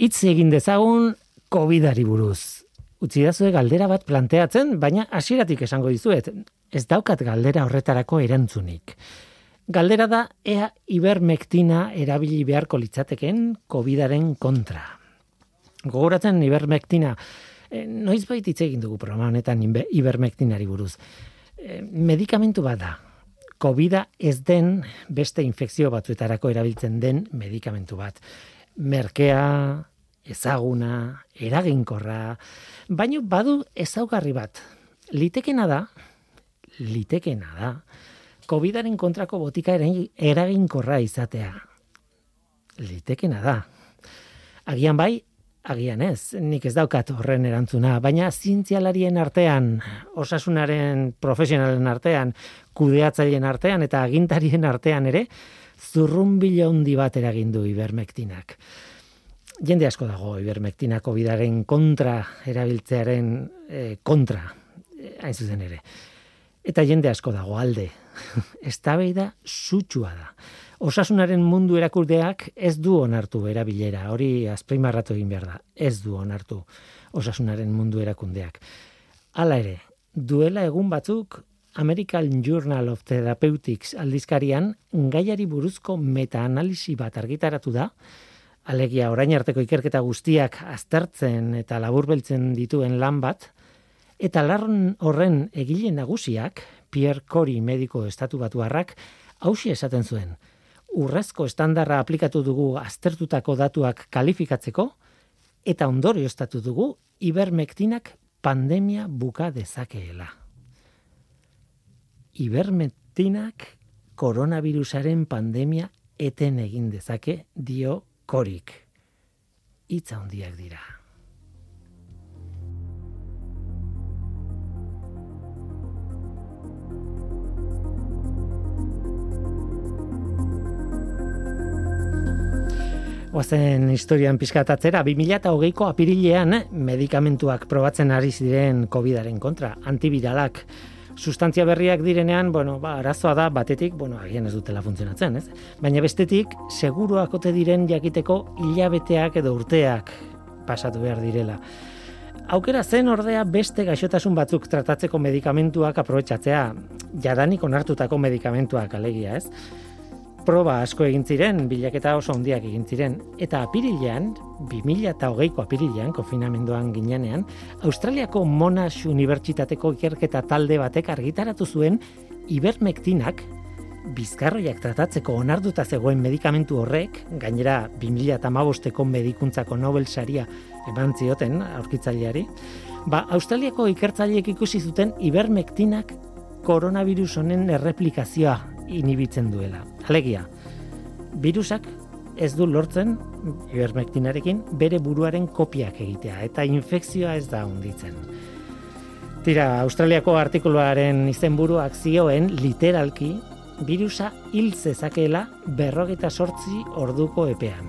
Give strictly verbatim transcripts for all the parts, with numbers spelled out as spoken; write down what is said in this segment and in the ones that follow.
Hitz egin dezagun COVIDari buruz. Utzidazue galdera bat planteatzen, baina hasieratik esango dizuet, ez daukat galdera horretarako erantzunik. Galdera da ea ivermektina erabili beharko litzateken COVIDaren kontra. Gogoratzen ivermektina, eh, noizbait hitz egin dugu programa honetan ivermektinari buruz. Eh, medikamentu bat da. COVIDa ez den beste infekzio batzuetarako erabiltzen den medikamentu bat. Merkea, ezaguna, eraginkorra, baina badu ezaugarri bat. Litekena da, litekena da, COVIDaren kontrako botika eraginkorra izatea. Litekena da. Agian bai, agian ez, nik ez daukat horren erantzuna, baina zientzialarien artean, osasunaren profesionalen artean, kudeatzaileen artean eta agintarien artean ere, zurrunbilo handi bat eragin du ivermektinak. Jende asko dago ivermektina COVIDaren kontra erabiltzearen eh, kontra, eh, hain zuzen ere. Eta jende asko dago alde. Eztabaida sutsua da. Osasunaren mundu erakundeak ez du onartu erabilera, hori azpimarratu egin behar da. Ez du onartu osasunaren mundu erakundeak. Hala ere, duela egun batzuk American Journal of Therapeutics aldizkarian gaiari buruzko meta-analisi bat argitaratu da, alegia orain arteko ikerketa guztiak aztertzen eta laburbeltzen dituen lan bat, eta lan horren egile nagusiak, Pierre Kory mediko estatu batuarrak, hauxe esaten zuen. Urrezko estandarra aplikatu dugu aztertutako datuak kalifikatzeko, eta ondorioztatu dugu ivermektinak pandemia buka dezakeela. Ivermektinak koronavirusaren pandemia eten egin dezake, dio Koryk. Hitz handiak dira. Oazen historian pizkatatzera, bi mila hogeiko apirilean medikamentuak probatzen ari ziren COVIDaren kontra, antiviralak. Sustantzia berriak direnean, bueno, ba, arazoa da batetik, bueno, agian ez dutela funtzionatzen, ez? Baina bestetik, seguruak ote diren jakiteko hilabeteak edo urteak pasatu behar direla. Aukera zen ordea beste gaixotasun batzuk tratatzeko medikamentuak aprobetxatzea, jadanik onartutako medikamentuak alegia, ez? Proba asko egin ziren, bilaketa oso handiak egin ziren, eta apirilean, bi mila hogeiko apirilean, konfinamenduan ginenean, Australiako Monash Unibertsitateko ikerketa talde batek argitaratu zuen ivermektinak bizkarroiak tratatzeko onartuta zegoen medikamentu horrek, gainera bi mila hamabosteko medikuntzako Nobel saria eman zioten aurkitzaileari, ba, Australiako ikertzaileek ikusi zuten ivermektinak koronavirus honen erreplikazioa inhibitzen duela. Alegia, virusak ez du lortzen ivermektinarekin bere buruaren kopiak egitea eta infekzioa ez da hunditzen. Tira, Australiako artikuluaren izenburuak zioen literalki virusa hil zezakeela berrogeita zortzi orduko epean.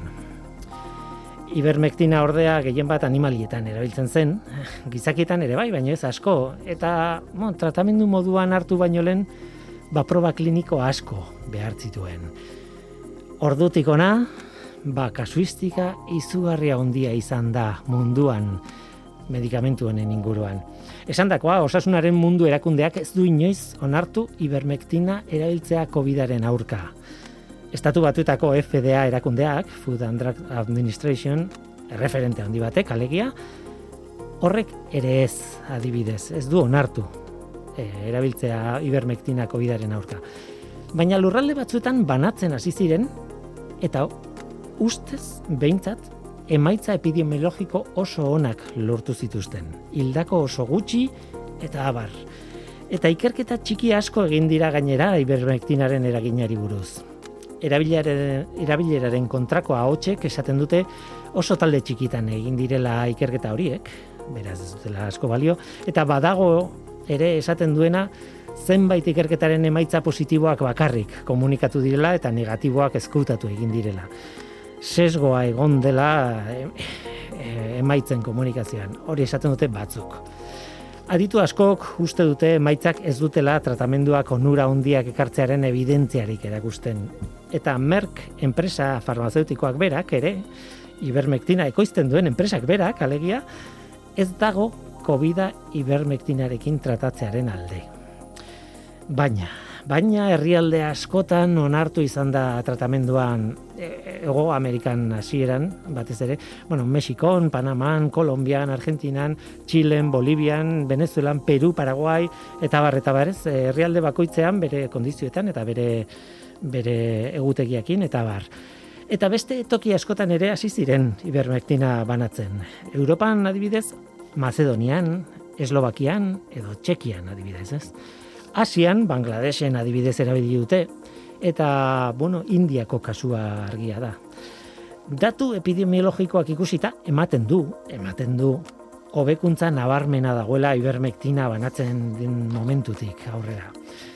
Ivermektina ordea gehien bat animalietan erabiltzen zen, gizakietan ere bai, baina ez asko, eta bon, tratamendu moduan hartu baino lehen ba proba kliniko asko behar zituen. Ordutik ona, ba kasuistika izugarria handia izan da munduan medikamentu honen inguruan. Esandakoa, osasunaren mundu erakundeak ez du inoiz onartu ivermektina erabiltzea COVIDaren aurka. Estatu Batuetako F D A erakundeak, Food and Drug Administration, erreferente handi batek, alegia, horrek ere ez adibidez, ez du onartu e, erabiltzea ivermektina COVIDaren aurka. Baina lurralde batzuetan banatzen hasi ziren, eta ustez, behintzat, emaitza epidemiologiko oso onak lortu zituzten. Hildako oso gutxi eta abar. Eta ikerketa txiki asko egin dira gainera ivermektinaren eraginari buruz. Erabileraren kontrako ahotsek esaten dute oso talde txikitan egin direla ikerketa horiek, beraz ez dutela asko balio, eta badago ere esaten duena zenbait ikerketaren emaitza positiboak bakarrik komunikatu direla eta negatiboak ezkutatu egin direla. Sesgoa egon dela e, e, emaitzen komunikazioan, hori esaten dute batzuk. Aditu askok uste dute emaitzak ez dutela tratamenduak onura handiak ekartzearen evidentziarik erakusten. Eta Merck enpresa farmazeutikoak berak ere, ivermektina ekoizten duen enpresak berak, alegia, ez dago Covida ivermektinarekin tratatzearen alde. Baina, baina herrialde askotan onartu izan da tratamenduan Hego Amerikan hasieran, batez ere, bueno, Mexikon, Panaman, Kolonbian, Argentinan, Txilen, Bolivian, Venezuelan, Peru, Paraguai, eta bar, eta barez, herrialde bakoitzean bere kondizioetan eta bere, bere egutegiakin, eta bar. Eta beste toki askotan ere hasi ziren ivermektina banatzen. Europan adibidez, Macedonian, Eslovakian edo Txekian adibidez, ez? Asian, Bangladesen adibidez erabili dute, eta, bueno, Indiako kasua argia da. Datu epidemiologikoak ikusita, ematen du, ematen du, hobekuntza nabarmena dagoela ivermektina banatzen den momentutik aurrera.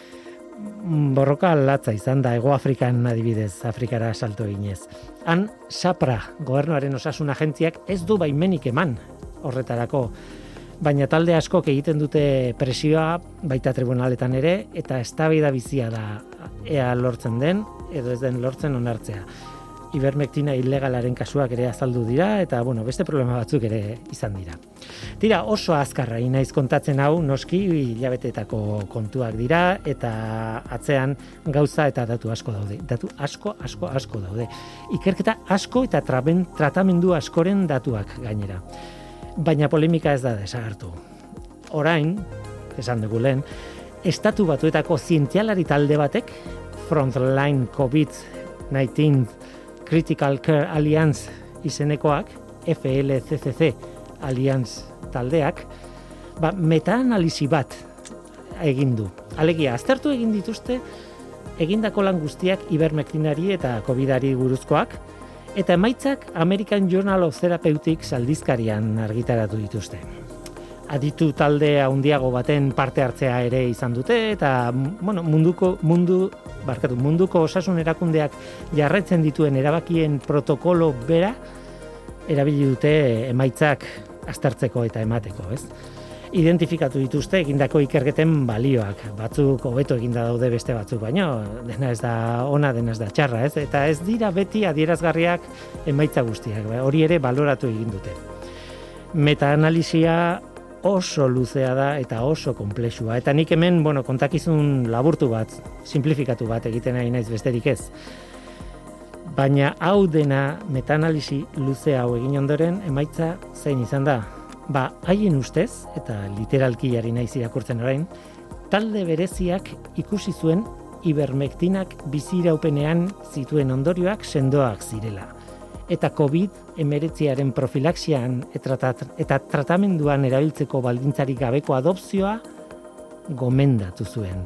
Borroka latza izan da, Hego Afrikan adibidez, Afrikara salto eginez. Han, SAPRA, gobernuaren osasun agentziak, ez du baimenik eman horretarako, baina talde askok egiten dute presioa baita tribunaletan ere, eta eztabaida bizia da ea lortzen den, edo ez den lortzen onartzea. Ivermektina ilegalaren kasuak ere azaldu dira, eta bueno, beste problema batzuk ere izan dira. Tira, oso azkarra inaiz kontatzen hau, noski hilabeteetako kontuak dira, eta atzean gauza eta datu asko daude. Datu asko, asko, asko daude. Ikerketa asko eta traben, tratamendu askoren datuak gainera. Baina polemika ez da desagertu. Orain, esan dugu lehen, Estatu Batuetako zientzialari talde batek, Frontline covid hemeretzi Critical Care Alliance izenekoak, F L C C C Alliance taldeak, ba, meta-analisi bat egin du. Alegia, aztertu egin dituzte egindako lan guztiak ivermektinari eta covidari buruzkoak, eta emaitzak American Journal of Therapeutics aldizkarian argitaratu dituzte. Aditu talde handiago baten parte hartzea ere izan dute, eta bueno, munduko, mundu, barkatu, munduko osasun erakundeak jarraitzen dituen erabakien protokolo bera erabili dute emaitzak aztertzeko eta emateko, ez? Identifikatu dituzte egindako ikerketen balioak. Batzuk hobeto eginda daude beste batzuk, baino dena ez da ona, dena ez da txarra, ez? Eta ez dira beti adierazgarriak emaitza guztiak. Hori ere baloratu egin dute. Meta-analisia oso luzea da eta oso konplexua. Eta nik hemen, bueno, kontakizun laburtu bat, simplifikatu bat egiten ari naiz besterik ez. Baina hau dena meta-analisi luze hau egin ondoren emaitza zein izan da? Ba, haien ustez, eta literalki ari naiz irakurtzen orain, talde bereziak ikusi zuen ivermektinak biziraupenean zituen ondorioak sendoak zirela. Eta covid hemeretziaren profilaxian eta tratamenduan erabiltzeko baldintzarik gabeko adopzioa gomendatu zuen.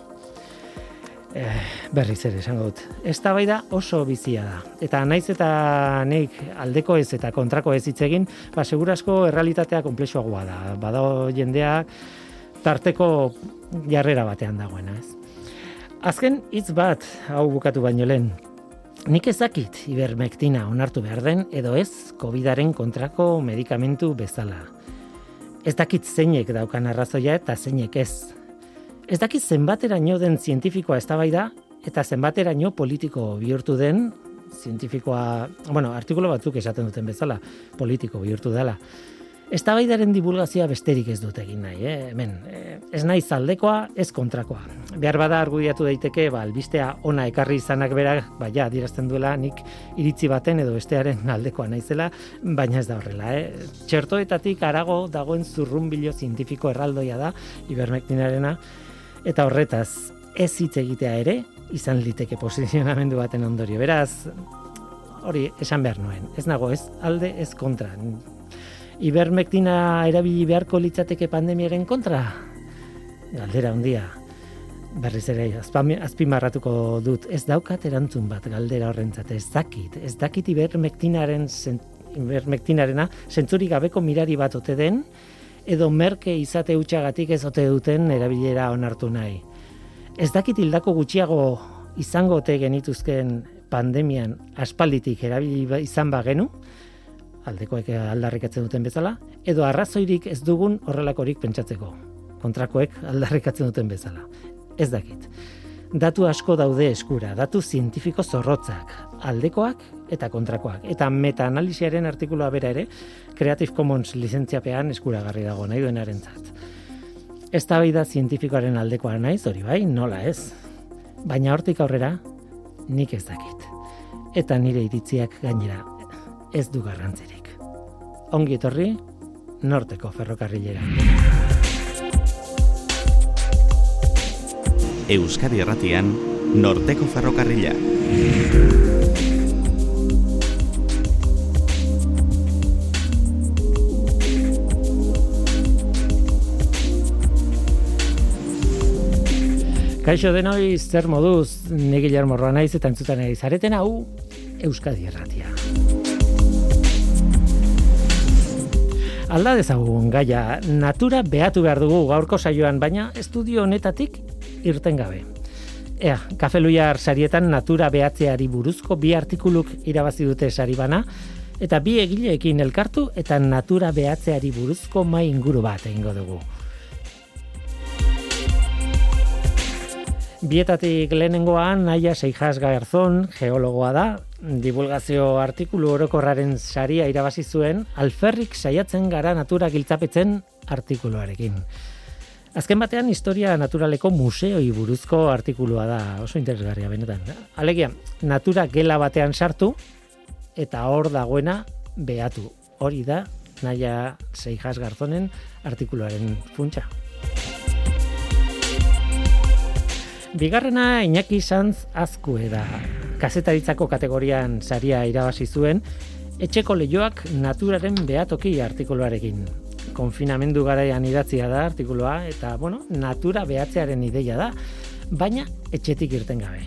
Eh, berriz ere esango dut. Eztabaida oso bizia da. Eta naiz eta nik aldeko ez eta kontrako ez hitz egin, ba segurazko errealitatea konplexuagoa da. Badago jendea tarteko jarrera batean dagoena, ez? Azken hitz bat hau bukatu baino lehen. Nik ez dakit ivermektina onartu behar den edo ez covidaren kontrako medikamentu bezala. Ez dakit zeinek daukan arrazoia eta zeinek ez. Ez dakit zenbateraino den zientifikoa eztabaida eta zenbateraino politiko bihurtu den zientifikoa, bueno, artikulu batzuk esaten duten bezala, politiko bihurtu dela. Eztabaidaren divulgazioa besterik ez dut egin nahi, eh? Hemen, eh, ez naiz aldekoa, ez kontrakoa. Behar bada argudiatu daiteke, ba, albistea ona ekarri izanak berak, ba, ja, adierazten duela nik iritzi baten edo bestearen aldekoa naizela, baina ez da horrela, eh? Txertoetatik harago dagoen zurrunbilo zientifiko erraldoia da, ivermektinarena, eta horretaz, ez hitz egitea ere, izan liteke posizionamendu baten ondorio. Beraz, hori esan behar nuen, ez nago, ez alde, ez kontra. Ivermektina erabili beharko litzateke pandemiaren kontra? Galdera handia. Berriz ere, azpimarratuko dut, ez daukat erantzun bat galdera horrentzat, ez dakit, ez dakit ivermektinaren, ivermektinarena zentzurik gabeko mirari bat ote den, edo merke izate hutsagatik ez ote duten erabilera onartu nahi. Ez dakit hildako gutxiago izango ote genituzken pandemian aspalditik erabili izan bagenu, aldekoek aldarrikatzen duten bezala, edo arrazoirik ez dugun horrelakorik pentsatzeko. Kontrakoek aldarrikatzen duten bezala. Ez dakit. Datu asko daude eskura, datu zientifiko zorrotzak, aldekoak eta kontrakoak. Eta meta-analisiaren artikulua bera ere, Creative Commons lizentziapean eskuragarri dago nahi duenarentzat. Eztabaida zientifikoaren aldekoa naiz, hori bai, nola ez. Baina hortik aurrera, nik ez dakit. Eta nire iritziak gainera ez du garrantzirik. Ongi etorri, Norteko ferrokarrilera. Euskadi Irratian, Norteko ferrokarrila. Kaixo denoi, zer moduz, ni Guillermo Roa naiz eta entzutan ari zareten hau Euskadi Irratia. Alda dezagun gaia, natura behatu behar dugu gaurko saioan, baina estudio honetatik irten gabe. Ea, Kafe Luiar sarietan natura behatzeari buruzko bi artikuluk irabazi dute sari bana, eta bi egileekin elkartu eta natura behatzeari buruzko mai inguru bat egingo dugu. Bietatik lehenengoan, Naia Seijas Garzón, geologoa da, divulgazio artikulu orokorraren saria irabazi zuen, alferrik saiatzen gara natura giltzapetzen artikuluarekin. Azken batean, historia naturaleko museoi buruzko artikulua da, oso interesgarria benetan. Alegia, natura gela batean sartu, eta hor dagoena behatu. Hori da, Naia Seijas Garzonen artikuluaren funtsa. Bigarrena Iñaki Sanz Azkue da. Kazetaritzako kategorian saria irabazi zuen, etxeko leihoak naturaren behatoki artikuluarekin. Konfinamendu garaian idatzia da artikulua, eta, bueno, natura behatzearen ideia da, baina etxetik irten gabe.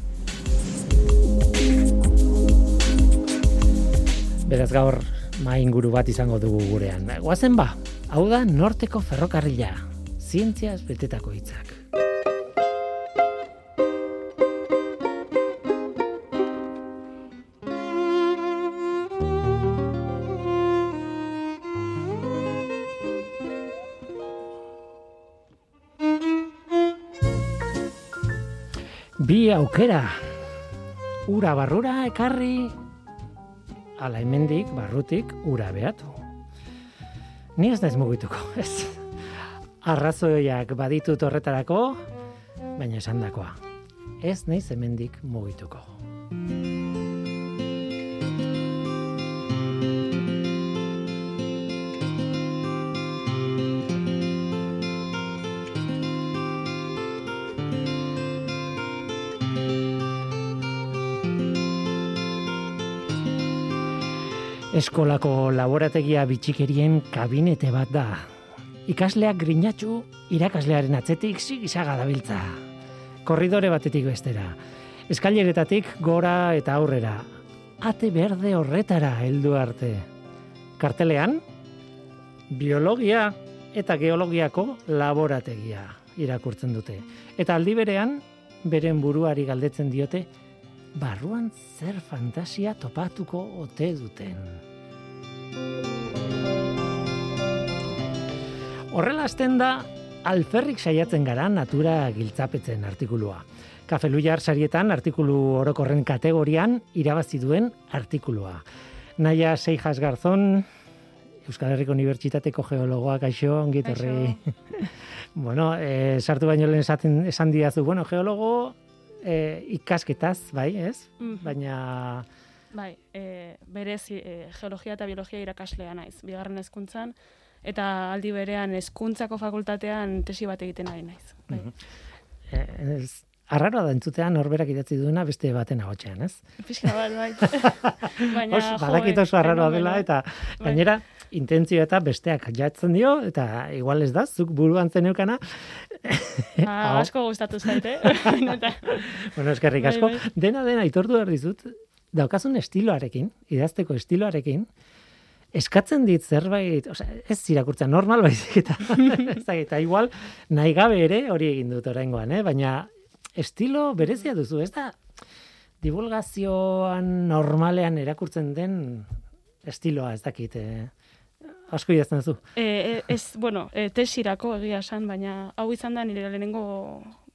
Beraz gaur mai inguru bat izango dugu gurean. Goazen ba, hau da Norteko ferrokarrila, zientziaz betetako hitzak. Bi aukera, ura barrura ekarri, ala hemendik barrutik ura behatu. Ni ez naiz mugituko, ez. Arrazoiak baditut horretarako, baina esandakoa. Ez naiz hemendik mugituko. Eskolako laborategia bitxikerien kabinete bat da. Ikasleak grinatxu, irakaslearen atzetik zigizaga dabiltza. Korridore batetik bestera. Eskaileretatik gora eta aurrera. Ate berde horretara heldu arte. Kartelean, biologia eta geologiako laborategia irakurtzen dute. Eta aldi berean, beren buruari galdetzen diote, barruan zer fantasia topatuko ote duten. Horrela hasten da, alferrik saiatzen gara natura giltzapetzen artikulua. Kafe Luiar sarietan artikulu orokorren kategorian irabazi duen artikulua. Naia Seijas Garzón, Euskal Herriko Unibertsitateko geologoa, kaixo, ongi etorri. Bueno, eh, sartu baino lehen esaten, esan diazu, bueno, geologo eh, ikasketaz, bai, ez? Mm-hmm. Baina... Bai, e, berez e, geologia eta biologia irakaslea naiz, bigarren hezkuntzan, eta aldi berean hezkuntzako fakultatean tesi bat egiten ari naiz. Bai. Mm-hmm. Ez, arraroa da entzutean norberak idatzi duena beste baten agotxean, ez? Pixka bat, bai. Baina, Os, badakit oso arraroa dela, eta bai. Gainera, intentzio eta besteak jatzen dio, eta igual ez da, zuk buruan zeneukana. Ah, asko gustatu zaite. Bueno, eskerrik asko. Bai, bai. Dena, dena, aitortu behar dizut, daukazun estiloarekin, idazteko estiloarekin, eskatzen dit zerbait, osea, ez irakurtza normal baizik eta, eta igual nahi gabe ere hori egin dut oraingoan, eh? Baina estilo berezia duzu, ez da divulgazioan normalean erakurtzen den estiloa, ez dakit, eh? Asko idazten duzu. E, ez, bueno, e, tesirako egia esan, baina hau izan da nire lehenengo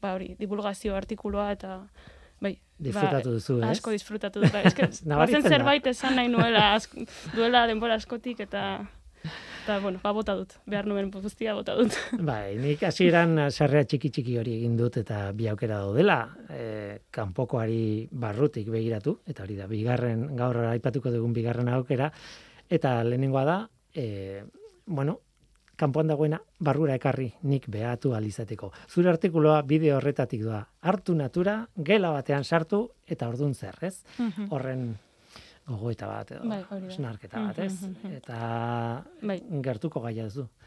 ba hori, divulgazio artikuloa eta bai, disfrutatu duzu, ez? Asko disfrutatu dut. Eske, bazen zerbait esan nahi nuela, asko, duela denbora askotik, eta, eta bueno, ba, bota dut. Behar nuen guztia bota dut. Bai, nik hasieran sarrera txiki-txiki hori egin dut, eta bi aukera daudela, e, kanpokoari barrutik begiratu, eta hori da, bigarren, gaur aipatuko dugun bigarren aukera, eta lehenengoa da, e, bueno, kanpoan dagoena barrura ekarri nik behatu alizateko. Zure artikuloa bideo horretatik doa. Hartu natura, gela batean sartu eta ordun zer, ez? Mhm. Horren gogoeta bat edo, Bai, hori da. esnarketa bat, ez? Mhm. Eta Bai. gertuko gaia ez du.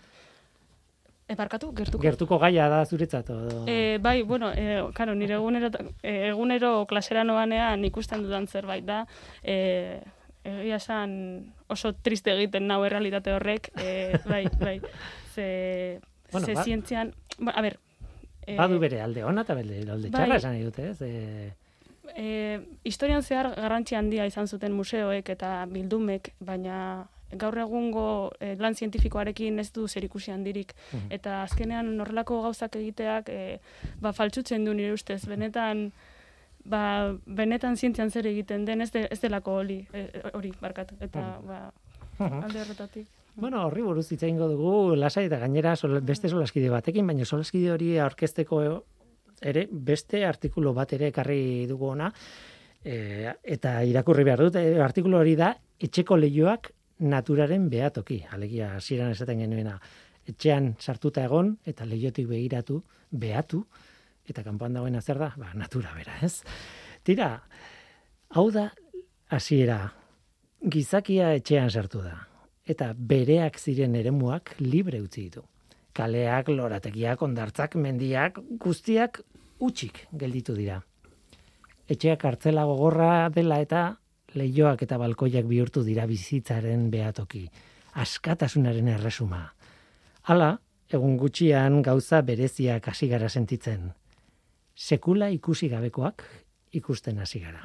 E, barkatu, gertuko. Gertuko gaia da zuretzat edo. E, bai, bueno, e, karo, nire egunero, e, egunero klasera noanean ikusten dudan zerbait da, e, egia esan oso triste egiten nau errealitate horrek, e, bai, bai, ze, Bueno, ze ba- zientzian, ba, a ber, e, Badu bere alde ona eta bere alde bai. txarra esan nahi dute, ez? E, E, historian zehar garrantzi handia izan zuten museoek eta bildumek, baina gaur egungo e, lan zientifikoarekin ez du zerikusi handirik. Mhm. Eta azkenean horrelako gauzak egiteak e, ba, faltsutzen du nire ustez. Benetan, ba, benetan zientzian zer egiten den ez, de, ez delako hori, e, hori barkatu. Eta ba, Mhm. alde horretatik. Bueno, horri buruz hitz egingo dugu lasai eta gainera sol, beste solaskide batekin, baina solaskide hori aurkezteko ere beste artikulu bat ere ekarri dugu ona, e, eta irakurri behar dut, e, artikulu hori da etxeko leihoak naturaren behatoki, alegia hasieran esaten genuena, etxean sartuta egon eta leihotik begiratu, behatu, eta kanpoan dagoena zer da? Ba, natura bera, ez? Tira, hau da hasiera, gizakia etxean sartu da, eta bereak ziren eremuak libre utzi ditu. Kaleak, lorategiak, ondartzak, mendiak, guztiak utxik gelditu dira. Etxeak kartzela gogorra dela eta leihoak eta balkoiak bihurtu dira bizitzaren behatoki. Askatasunaren erresuma. Hala, egun gutxian gauza bereziak hasi gara sentitzen. Sekula ikusi gabekoak ikusten hasi gara.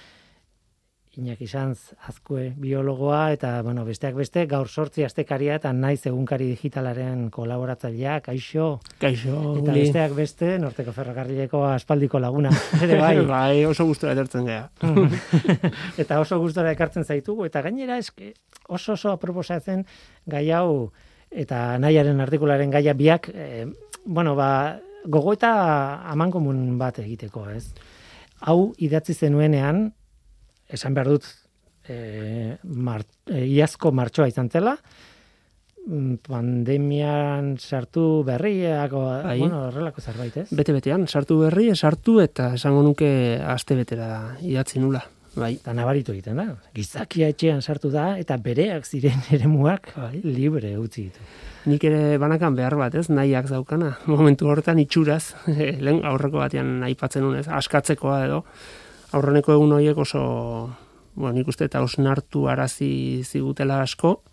Iñaki Sanz, Azkue biologoa eta bueno, besteak beste gaur sortzi astekaria eta naiz egunkari digitalaren kolaboratzailea, kaixo. Kaixo, Eta Uli. besteak beste Norteko Ferrokarrileko aspaldiko laguna ere bai. Bai, oso gustora etortzen gea. Eta oso gustora ekartzen zaitugu eta gainera eske oso oso aproposatzen gai hau eta nahiaren artikularen gaia biak eh, bueno, ba gogoeta amankomun bat egiteko, ez? Hau idatzi zenuenean esan behar dut, e, mar, e, iazko martxoa izan zela, mm, pandemian sartu berriako, Bai. bueno, horrelako zerbait, ez? Bete-betean, sartu berri, sartu eta esango nuke aste betera idatzi nula. Bai. Eta nabaritu egiten da. Gizakia etxean sartu da eta bereak ziren eremuak Bai. libre utzi ditu. Nik ere banakan behar bat, ez, nahiak daukana. Momentu horretan itxuraz, lehen aurreko batean aipatzen nuen, ez, askatzekoa edo. Aurreneko egun horiek oso, bueno, nik uste eta osnartu arazi zigutela asko,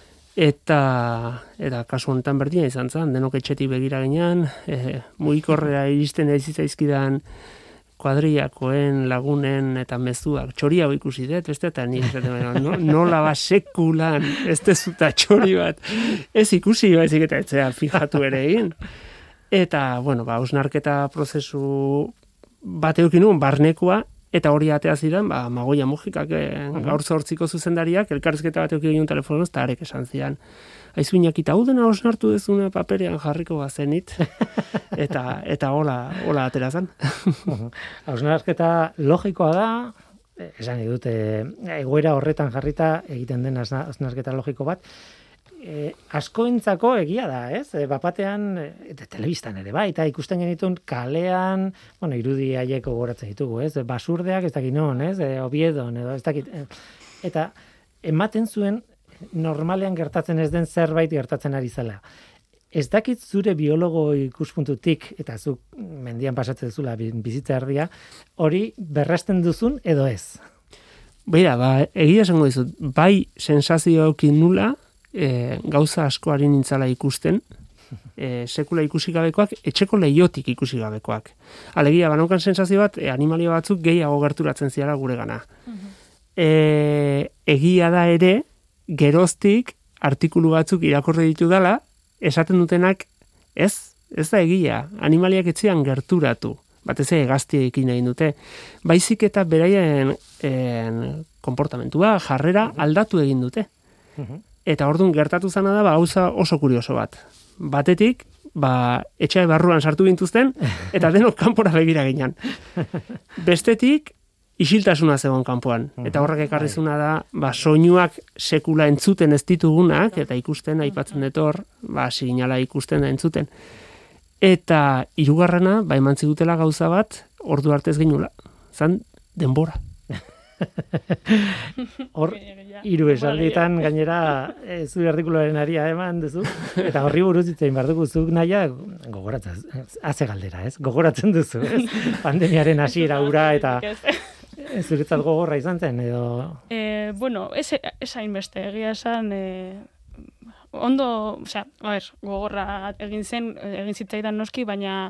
eta, eta kasu honetan berdina izan zen, denok etxetik begira ginean, e, mugikorrera iristen ez zaizkidan kuadriakoen, lagunen eta mezuak, txori hau ikusi dut, beste, eta ni esaten, no, nola ba sekulan, ez dezuta txori bat, ez ikusi, baizik eta etzea fijatu ere egin. Eta, bueno, ba, osnarketa prozesu bat eukin nuen, barnekoa, eta hori atea zidan, ba, Magoia Mojikak, eh, gaur zortziko zuzendariak, elkarrizketa bat eukin nuen telefonoz, eta arek esan zidan. Aizu Iñaki, hau dena osnartu dezuna paperean jarriko bazenit, eta eta hola, hola atera zen. Hausnarketa logikoa da, esan nahi dute, egoera horretan jarrita egiten den hausnarketa logiko bat, e, askoentzako egia da, ez? E, bapatean, eta telebistan ere bai, eta ikusten genitun kalean, bueno, irudi haiek gogoratzen ditugu, ez? Basurdeak ez dakit non, ez? E, Obiedon, edo ez dakit. Eta ematen zuen normalean gertatzen ez den zerbait gertatzen ari zela. Ez dakit zure biologo ikuspuntutik, eta zuk mendian pasatzen zula bizitza erdia, hori berresten duzun edo ez? Beira, ba, egia esango dizut, bai sensazio eukin nula, e, gauza askoari nintzala ikusten, e, sekula ikusi gabekoak, etxeko leiotik ikusi gabekoak. Alegia, banaukan sensazio bat, e, animalia batzuk gehiago gerturatzen ziala gure gana. E, egia da ere, geroztik artikulu batzuk irakurri ditu dela, esaten dutenak ez Ez da egia, animaliak etzean gerturatu, batez ere hegaztiekin egin dute, baizik eta beraien en, konportamentua, jarrera aldatu egin dute. Eta orduan gertatu zana da, ba, gauza oso kurioso bat. Batetik, ba, etxai barruan sartu gintuzten, eta denok kanpora begira ginen. Bestetik, isiltasuna zegoen kanpoan. Eta horrek ekarrizuna da, ba, soinuak sekula entzuten ez ditugunak, eta ikusten, aipatzen dut hor, ba, signala ikusten da entzuten. Eta hirugarrena, ba, eman zigutela gauza bat, ordu arte ez ginula. Zan, denbora. Hor, hiru esaldietan gainera e, zure artikuloaren aria eman duzu, eta horri buruz itzein behar dugu zuk naia gogoratzen, haze galdera, ez? Gogoratzen duzu, ez? Pandemiaren hasiera ura eta zuretzat gogorra izan zen, edo... Eh, bueno, ez, ez hainbeste, egia esan... Eh... Ondo, osea, a ber, gogorra egin zen, egin zitzaidan noski, baina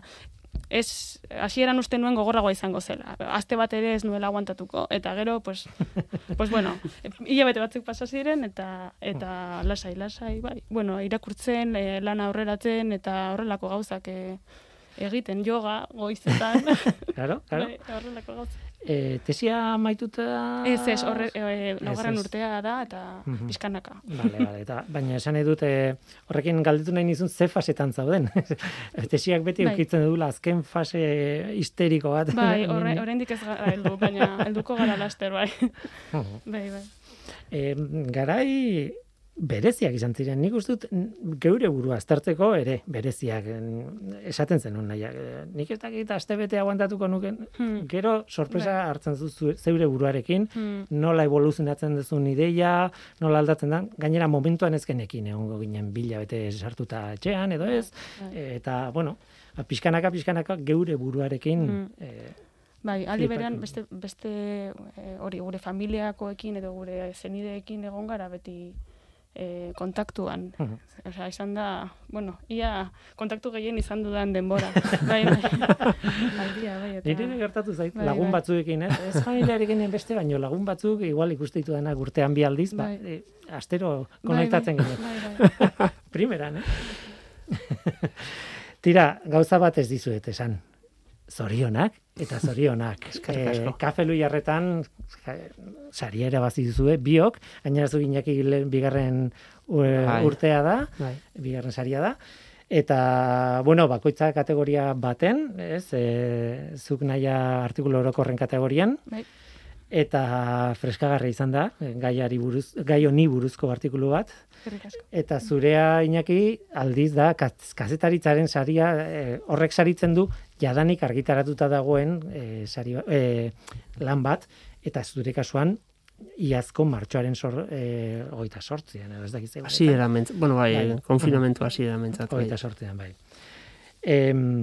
ez hasieran uste nuen gogorragoa izango zela. Aste bat ere ez nuela aguantatuko eta gero pues pues bueno, hilabete batzuk pasa ziren eta eta lasai lasai bai. Bueno, irakurtzen, e, lan aurreratzen eta horrelako gauzak e, egiten yoga goizetan. Claro, claro. Bai, horrelako gauzak. E, tesia maituta... Ez, ez, horre, e, laugarren urtea da, eta uh-huh. pizkanaka. Bale, bale, eta, baina esan edut, e, horrekin galdetu nahi nizun ze fasetan zauden. Tesiak beti bai. Ukitzen dula azken fase histeriko bat. Bai, horre, oraindik ez gara heldu, baina helduko gara laster, bai. Uh-huh. Bai, bai. E, garai... bereziak izan ziren, nik uste dut geure burua aztertzeko ere bereziak esaten zenun nahiak. Nik ez dakit astebete aguantatuko nuken, hmm. gero sorpresa Be. hartzen zu zeure buruarekin, hmm. nola evoluzionatzen duzun ideia, nola aldatzen da, gainera momentuan ezkenekin egongo ginen bila bete sartuta etxean edo ez, Be. eta bueno, pixkanaka, pixkanaka geure buruarekin... Hmm. E, Bai, aldi berean beste, beste hori gure familiakoekin edo gure zenideekin egon gara beti E, kontaktuan. Uh-huh. Osea, izan da, bueno, ia kontaktu gehien izan dudan denbora. bai, bai. Aldia, bai, eta... Nire gertatu zait, bai, lagun bai. batzuekin, ez? Ez familiarekin beste, baino lagun batzuk igual ikusteitu dena urtean bi aldiz, bai. ba, e, astero konektatzen bai, bai. ginen. Bai, bai. Primeran, eh? Tira, gauza bat ez dizuet esan. Zorionak eta zorionak. e, Kafe Luiarretan saria erabazi duzue, biok, gainera zu Iñaki bigarren urtea da, bai. bigarren saria da, eta, bueno, bakoitza kategoria baten, ez, e, zuk naia artikulu orokorren kategorian, bai. Eta freskagarri izan da, gaiari buruz, gai honi buruzko artikulu bat. Eta zurea Iñaki aldiz da kazetaritzaren saria e, horrek saritzen du jadanik argitaratuta dagoen e, sari, e, lan bat eta zure kasuan iazko martxoaren sor, e, hogeita sortzian, edo ez dakiz egun. Hasi erament, bueno bai, bai. konfinamentu hasi eramentzat. Hogeita sortzian, bai. E,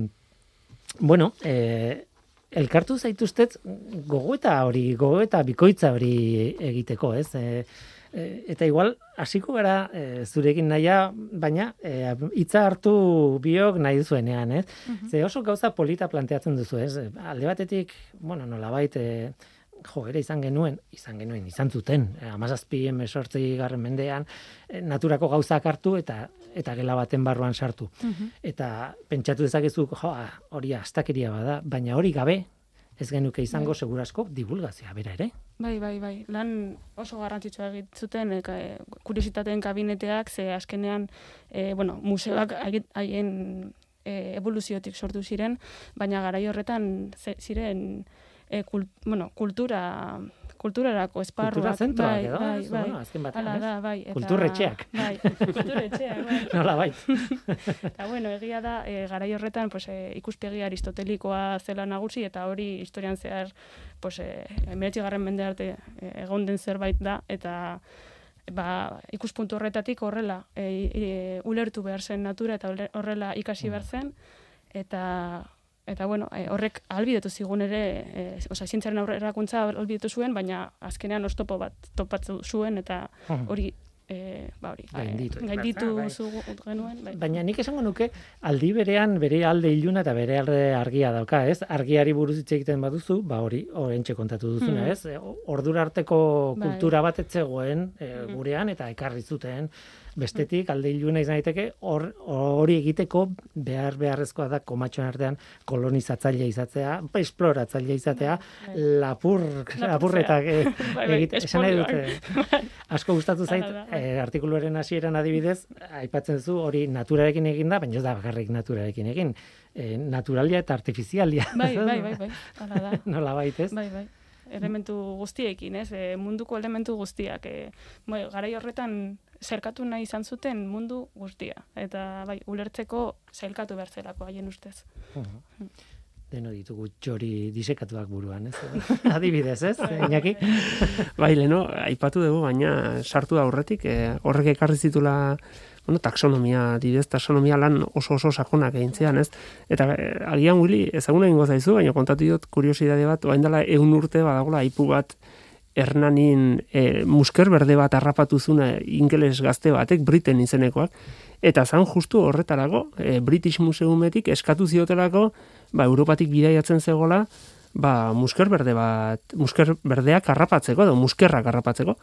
bueno, e, elkartu zaituztet gogoeta hori, gogoeta bikoitza hori egiteko, ez? E, e, eta igual, hasiko gara e, zurekin naia, baina hitza e, hartu biok nahi duzuenean, ez? Uh-huh. Ze oso gauza polita planteatzen duzu, ez? Alde batetik, bueno, nolabait, e, jo, ere izan genuen, izan genuen, izan zuten, hamazazpi hemezortzi garren mendean, e, naturako gauzak hartu eta eta gela baten barruan sartu. Uh-huh. Eta pentsatu dezakezu, jo, hori astakeria bada, baina hori gabe, ez genuke izango bai. Segurasko divulgazioa bera ere. Bai, bai, bai. Lan oso garrantzitsua egitzuten, e, kuriositateen kabineteak, ze azkenean, e, bueno, museoak haien e, evoluziotik sortu ziren, baina garai horretan ziren e, kult, bueno, kultura... kulturarako esparruak. Kultura zentroak bai, edo, bai, ez, bai, bueno, azken batean, ez? Da, bai, eta, kulturretxeak. Bai, kulturretxeak, bai. Nola bai. Eta bueno, egia da, e, garai horretan pues, e, ikuspegi aristotelikoa zela nagusi, eta hori historian zehar pues, e, hemeretzigarren mende arte e, egon den zerbait da, eta ba, ikuspuntu horretatik horrela e, e, ulertu behar zen natura, eta horrela ikasi behar zen, eta... Eta bueno, e, horrek ahalbidetu zigun ere, e, osea, zientziaren aurrerakuntza ahalbidetu zuen, baina azkenean oztopo bat topatu zuen eta hori e, ba hori, gainditu, e, gainditu bai. genuen. Bai. Baina nik esango nuke aldi berean bere alde iluna eta bere alde argia dauka, ez? Argiari buruz hitz egiten baduzu, ba hori, oraintxe kontatu duzuna, hmm. ez? Ordura arteko kultura bai. bat etzegoen e, gurean eta ekarri zuten Bestetik, alde iluna izan daiteke, hor hori egiteko behar beharrezkoa da komatxoen artean kolonizatzailea izatea, esploratzailea izatea, lapur, lapurretak eh, egite, esan nahi dute. Asko gustatu zait, eh, artikuluaren hasieran adibidez, aipatzen zu hori naturarekin egin da, baina ez da bakarrik naturarekin egin. Eh, naturalia eta artifizialia. Bai, bai, bai, bai. Hala da. Nola baitez. Bai, bai. Elementu guztiekin, ez? E, munduko elementu guztiak. E, bai, garai horretan zerkatu nahi izan zuten mundu guztia. Eta bai, ulertzeko zailkatu behar zelako haien ustez. Uh-huh. Deno ditugu txori disekatuak buruan, ez? Adibidez, ez? Iñaki? Bai, leno, aipatu dugu, baina sartu da aurretik, eh, horrek ekarri zitula bueno, taxonomia, didez, taxonomia lan oso oso sakonak egin zian, ez? Eta eh, agian Willy, ezaguna egingo zaizu, baina kontatu dut kuriosidade bat, orain dela ehun urte badagola aipu bat Hernanin eh, musker berde bat harrapatu zuna ingeles gazte batek, Briten izenekoak, eta zan justu horretarako, eh, British Museumetik eskatu ziotelako, ba, Europatik bidaiatzen zegola, ba, musker berde bat, musker berdeak harrapatzeko, edo muskerrak harrapatzeko,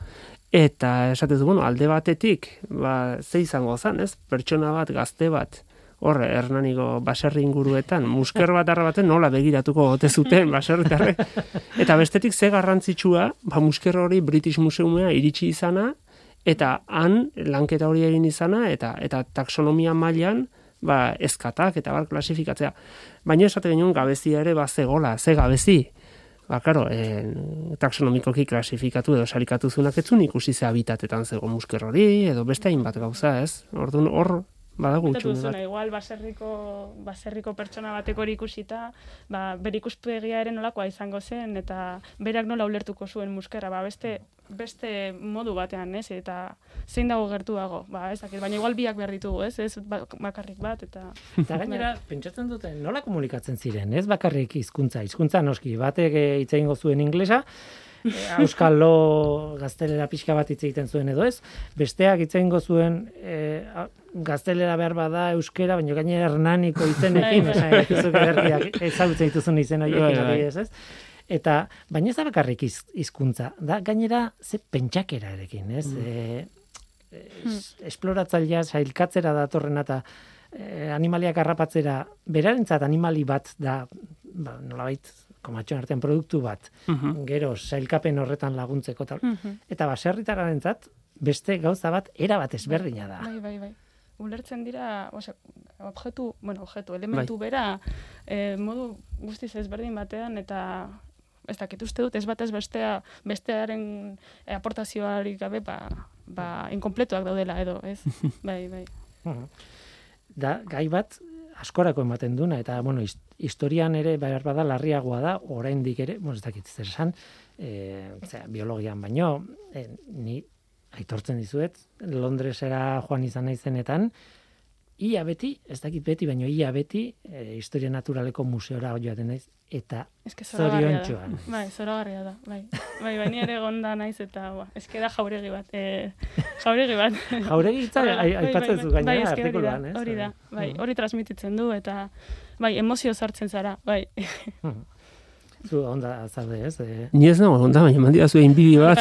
eta esatezu, bueno, alde batetik, ba, ze izango zan, ez? Pertsona bat, gazte bat, hor, Hernaniko baserri inguruetan, musker bat harrapatzen nola begiratuko ote zuten baserritarrek. Eta bestetik ze garrantzitsua, ba, musker hori British Museumea iritsi izana, eta han lanketa hori egin izana, eta eta taxonomia mailan ba, ezkatak eta bar klasifikatzea. Baina esate genuen gabezia ere bazegola, ze gabezi. Ba, karo, eh, taxonomikoki klasifikatu edo sarikatu zunak etzun ikusi ze habitatetan zego musker hori, edo beste hainbat gauza, ez? Orduan hor, badago utxune bat. Igual baserriko, baserriko pertsona batek hori ikusita, ba, bere ikuspegia ere nolakoa izango zen, eta berak nola ulertuko zuen muskerra, ba, beste, beste modu batean, ez? Eta zein dago gertuago, ba, ez dakit, baina igual biak behar ditugu, ez? Ez bakarrik bat, eta... Eta gainera, pentsatzen dute, nola komunikatzen ziren, ez bakarrik hizkuntza, hizkuntza noski, batek hitz egingo zuen inglesa, euskalo gaztelera pixka bat hitz egiten zuen edo ez, besteak hitz egingo zuen e, gaztelera behar bada euskera, baina gainera Hernaniko izenekin, esan dituzuk ederkiak ezagutzen dituzun izen horiekin adibidez, ez? Eta, baina ez da bakarrik hizkuntza, da gainera ze pentsakera erekin, ez? Mm. E, es, esploratzailea, sailkatzera datorrena eta e, animaliak harrapatzera, berarentzat animali bat da, ba, nolabait, komatxoen artean produktu bat, uh-huh. gero sailkapen horretan laguntzeko tal. Uh-huh. Eta baserritarrentzat beste gauza bat era bat ezberdina da. Bai, bai, bai. Ulertzen dira, osea, objektu, bueno, objektu, elementu bai. Bera, eh, modu guztiz ezberdin batean eta ez dakit uste dut, ez bat ez bestea, bestearen eh, aportazioari gabe, ba, ba, inkompletuak daudela edo, ez? Bai, bai. Uh-huh. Da, gai bat, askorako ematen duna, eta, bueno, historian ere, behar bada, larriagoa da, oraindik ere, bueno, ez dakit zer esan, e, zera, biologian baino, e, ni aitortzen dizuet, Londresera joan izan naizenetan, ia beti, ez dakit beti, baino ia beti, e, historia naturaleko museora joaten naiz, eta zoriontxoan. Bai, zoragarria da, bai. Bai, bai, ni ere gonda naiz, eta, ba, eske da jauregi bat, e, jauregi bat. Jauregi hitza aipatzen zu gainera artikuluan, ez? Hori da, bai, hori transmititzen du, eta, bai, emozio sartzen zara, bai. Zu onda zaude, ez? E... Ni ez nago onda, baina mandia zuen bibi bat.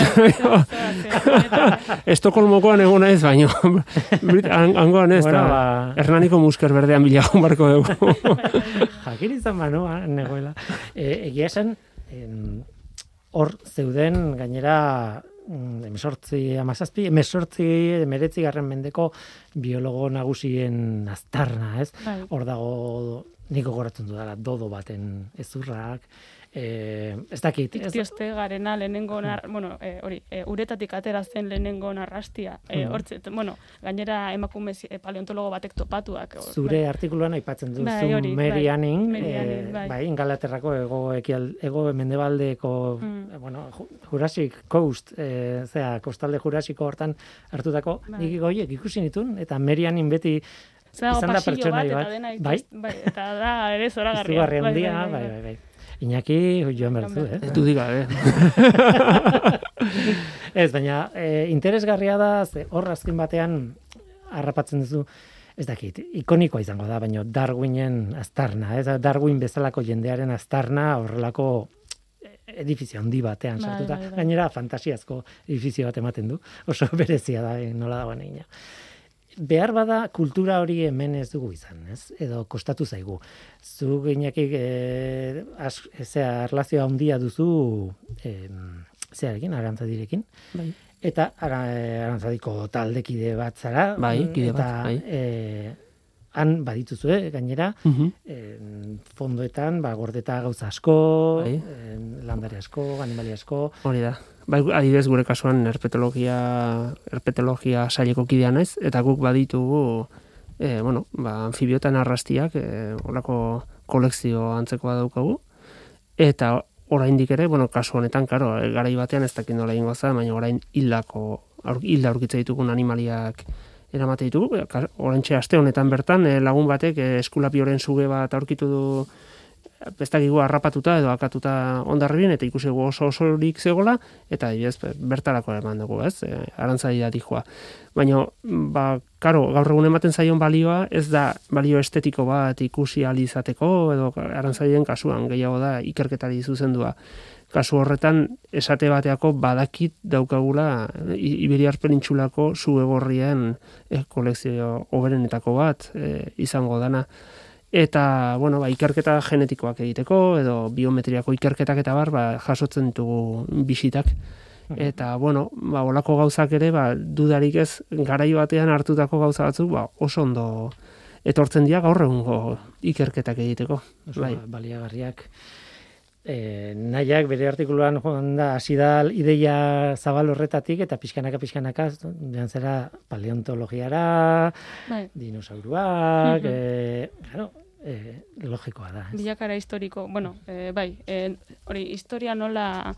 Estokolmokoan egon naiz, baina hangoan ez, bueno, ba... Hernaniko musker berdean bilagun barko dugu. Jakin izan manoa, negoela. E, egia esan, hor zeuden gainera emesortzi amazazpi, emesortzi emeretzi garren mendeko biologo nagusien aztarna, ez? Hor dago, niko goratzen dudala, dodo baten ezurrak, Eh, ez dakit. Iktioste garena lehenengo, nar, bueno, eh, hori, eh, uretatik atera zen lehenengo narrastia. Eh, hortze, bueno, gainera emakume eh, paleontologo batek topatuak. Zure bai. Artikuluan aipatzen duzu bai, Mary Anning, bai, eh, bai. bai, Ingalaterrako ego, ekial, ego mendebaldeko, mm. bueno, Jurassic Coast, eh, zera, kostalde Jurassico hortan hartutako, bai. Nik goiek ikusi nitun, eta Mary Anning beti izan da pertsonai bat. bat. Bai? Bai, eta da, ere zoragarria. Izugarri handia, bai, bai, bai. bai. Iñaki, joan bertu, eh? Ez du diga, eh? Ez, baina, e, interesgarria da, ze hor azken batean harrapatzen duzu, ez dakit, ikonikoa izango da, baina Darwinen aztarna, ez? Darwin bezalako jendearen aztarna horrelako edifizio handi batean sartuta. Bai, bai, bai. Gainera, fantasiazko edifizio bat ematen du, oso berezia da, nola dagoen egina. behar bada kultura hori hemen ez dugu izan, ez? Edo kostatu zaigu. Zu gineakik, e, zera, erlazioa handia duzu, e, zearekin, arantzadirekin. Bai. Eta ara, arantzadiko taldekide bat zara. Bai, kide bat, eta, bai. E, han badituzue, gainera, Mhm. e, fondoetan, ba, gordeta gauza asko, Bai. e, landare asko, animali asko. Hori da. Bai, adibidez gure kasuan herpetologia, herpetologia saileko kidea naiz, eta guk baditugu, e, bueno, ba, anfibiotan arrastiak, e, horako kolekzio antzekoa daukagu, eta oraindik ere, bueno, kasu honetan, karo, garai batean ez dakit nola egingo za, baina orain hildako, aur, hilda aurkitza ditugun animaliak eramate ditugu. Oraintxe aste honetan bertan e, lagun batek e, eskulapioren suge bat aurkitu du bestakigu harrapatuta edo akatuta ondarribien, eta ikusi oso osorik zegoela, eta adibidez bertarako eman dugu, ez? E, arantzadi da dijoa. Baina, ba, karo, gaur egun ematen zaion balioa, ez da balio estetiko bat ikusi ahal izateko, edo arantzadien kasuan gehiago da ikerketari zuzendua. Kasu horretan, esate bateako badakit daukagula Iberiar Penintsulako zuegorrien e, kolekzio hoberenetako bat e, izango dana. Eta, bueno, ba, ikerketa genetikoak egiteko, edo biometriako ikerketak eta bar, ba, jasotzen ditugu bisitak. Eta, bueno, ba, olako gauzak ere, ba, dudarik ez, garai batean hartutako gauza batzuk, ba, oso ondo etortzen dira gaur egungo ikerketak egiteko. Oso Bai. baliagarriak. E, nahiak bere artikuluan joan da, hasi da ideia zabal horretatik, eta pixkanaka, pixkanaka, joan zera paleontologiara, Bai. dinosauruak, Mhm. e, claro, e, logikoa da. Ez? Bilakara historiko, bueno, e, bai, e, hori, historia nola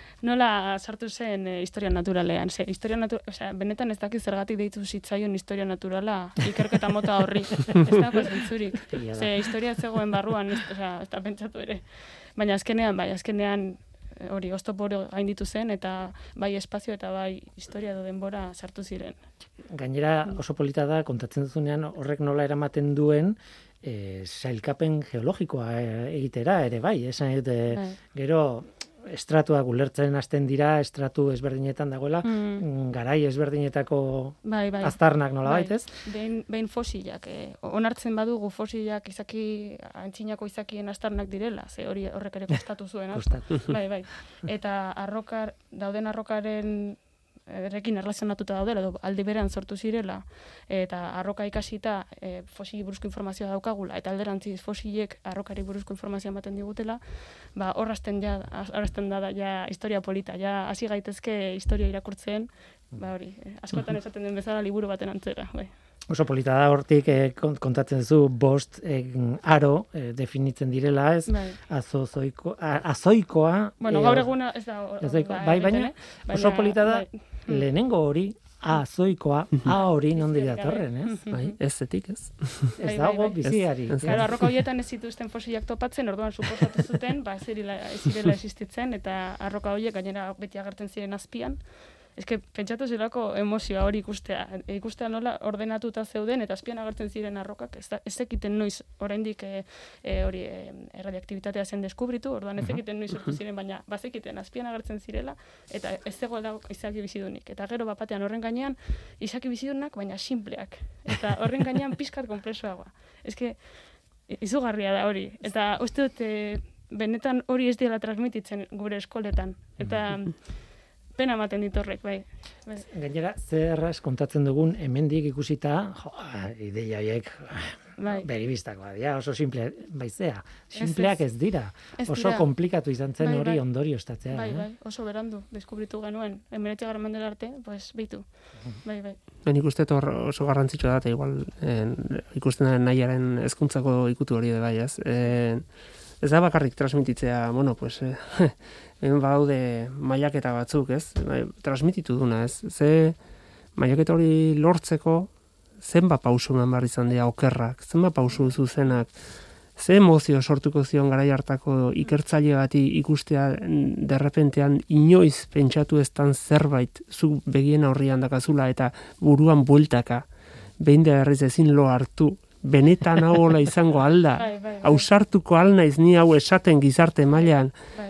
nola sartu zen e, historia naturalean. Ze, historia natu, osea, benetan ez dakit zergatik deitu zitzaion historia naturala ikerketa mota horri. Ez dago zentzurik. Egia da. Ze, historia ez zegoen barruan, ez, osea, ez da pentsatu ere. Baina azkenean, bai, azkenean e, hori oztopo hori gainditu zen, eta bai espazio eta bai historia edo denbora sartu ziren. Gainera oso polita da, kontatzen duzunean horrek nola eramaten duen, e, sailkapen geologikoa e, egitera ere bai, esan dute, Bai. gero estratuak ulertzen hasten dira, estratu ezberdinetan dagoela, Mm. garai ezberdinetako Bai, bai. aztarnak nola Bai. baitez. Behin, behin fosilak, eh, onartzen badugu fosilak izaki, antzinako izakien astarnak direla, ze hori horrek ere kostatu zuen. asko. Kostatu. Bai, bai. Eta arrokar, dauden arrokaren erekin erlazionatuta daudela, edo aldi berean sortu zirela, eta arroka ikasita e, fosili buruzko informazioa daukagula, eta alderantziz fosilek arrokari buruzko informazioa ematen digutela, ba, horrazten ja, horrazten da, ja historia polita, ja hasi gaitezke historia irakurtzen, ba hori, eh, askotan esaten den bezala liburu baten antzera, bai. Oso polita da hortik eh, kontatzen zu bost eh, aro eh, definitzen direla, ez? Bai. Azozoiko, a, azoikoa. Bueno, eh, gaur eguna ez da... ez daiko- bai, baina oso polita da, lehenengo hori, A azoikoa, A hori nondi datorren, ez? Bai, ez zetik, ez? Ez Bai, dago bai, bai. biziari. Ez- ez- Claro, arroka horietan ez zituzten fosilak topatzen, orduan suposatu zuten, ba, ez zirela, ez zirela existitzen, eta arroka horiek gainera beti agertzen ziren azpian. Ez que, pentsatu zelako emozioa hori ikustea. Ikustea nola ordenatuta zeuden, eta azpian agertzen ziren arrokak. Ez, da, ez zekiten noiz, oraindik e, e, hori e, erradiaktibitatea zen deskubritu, orduan ez zekiten noiz sortu ziren, baina bazekiten azpian agertzen zirela, eta ez zegoela izaki bizidunik. Eta gero bapatean horren gainean, izaki bizidunak, baina simpleak. Eta horren gainean pizkat konplexoagoa. Ez que, izugarria da hori. Eta uste dut, e, benetan hori ez dela transmititzen gure eskoletan. Eta pena ematen ditorrek, bai. bai. Gainera, zer erraz kontatzen dugun hemendik ikusita, jo, ideia horiek Bai. begibistakoa dira, oso simple, baizea. Simpleak ez dira. Ez Oso dira. komplikatu izan zen Bai, hori bai. ondorioztatzea. Bai, eh? bai, oso berandu, deskubritu genuen. Emeretzigarren mendera arte, pues, beitu. Bai, bai. Ben ikuste hor oso garrantzitsua da, eta igual en, ikusten da nahiaren hezkuntzako ikutu hori de bai, ez? En, ez da bakarrik transmititzea, bueno, pues, eh, hemen badaude mailaketa batzuk, ez? Bai, transmititu duna, ez? Ze mailaketa hori lortzeko zenba pausu eman behar izan dira okerrak, zenba pausu zuzenak, ze emozio sortuko zion garai hartako ikertzaile bati ikustea derrepentean inoiz pentsatu eztan zerbait zu begien aurrian dakazula eta buruan bueltaka, behin da berriz ezin lo hartu, benetan hau hola izango alda, Bai, bai, bai. ausartuko al naiz ni hau esaten gizarte mailan, Bai.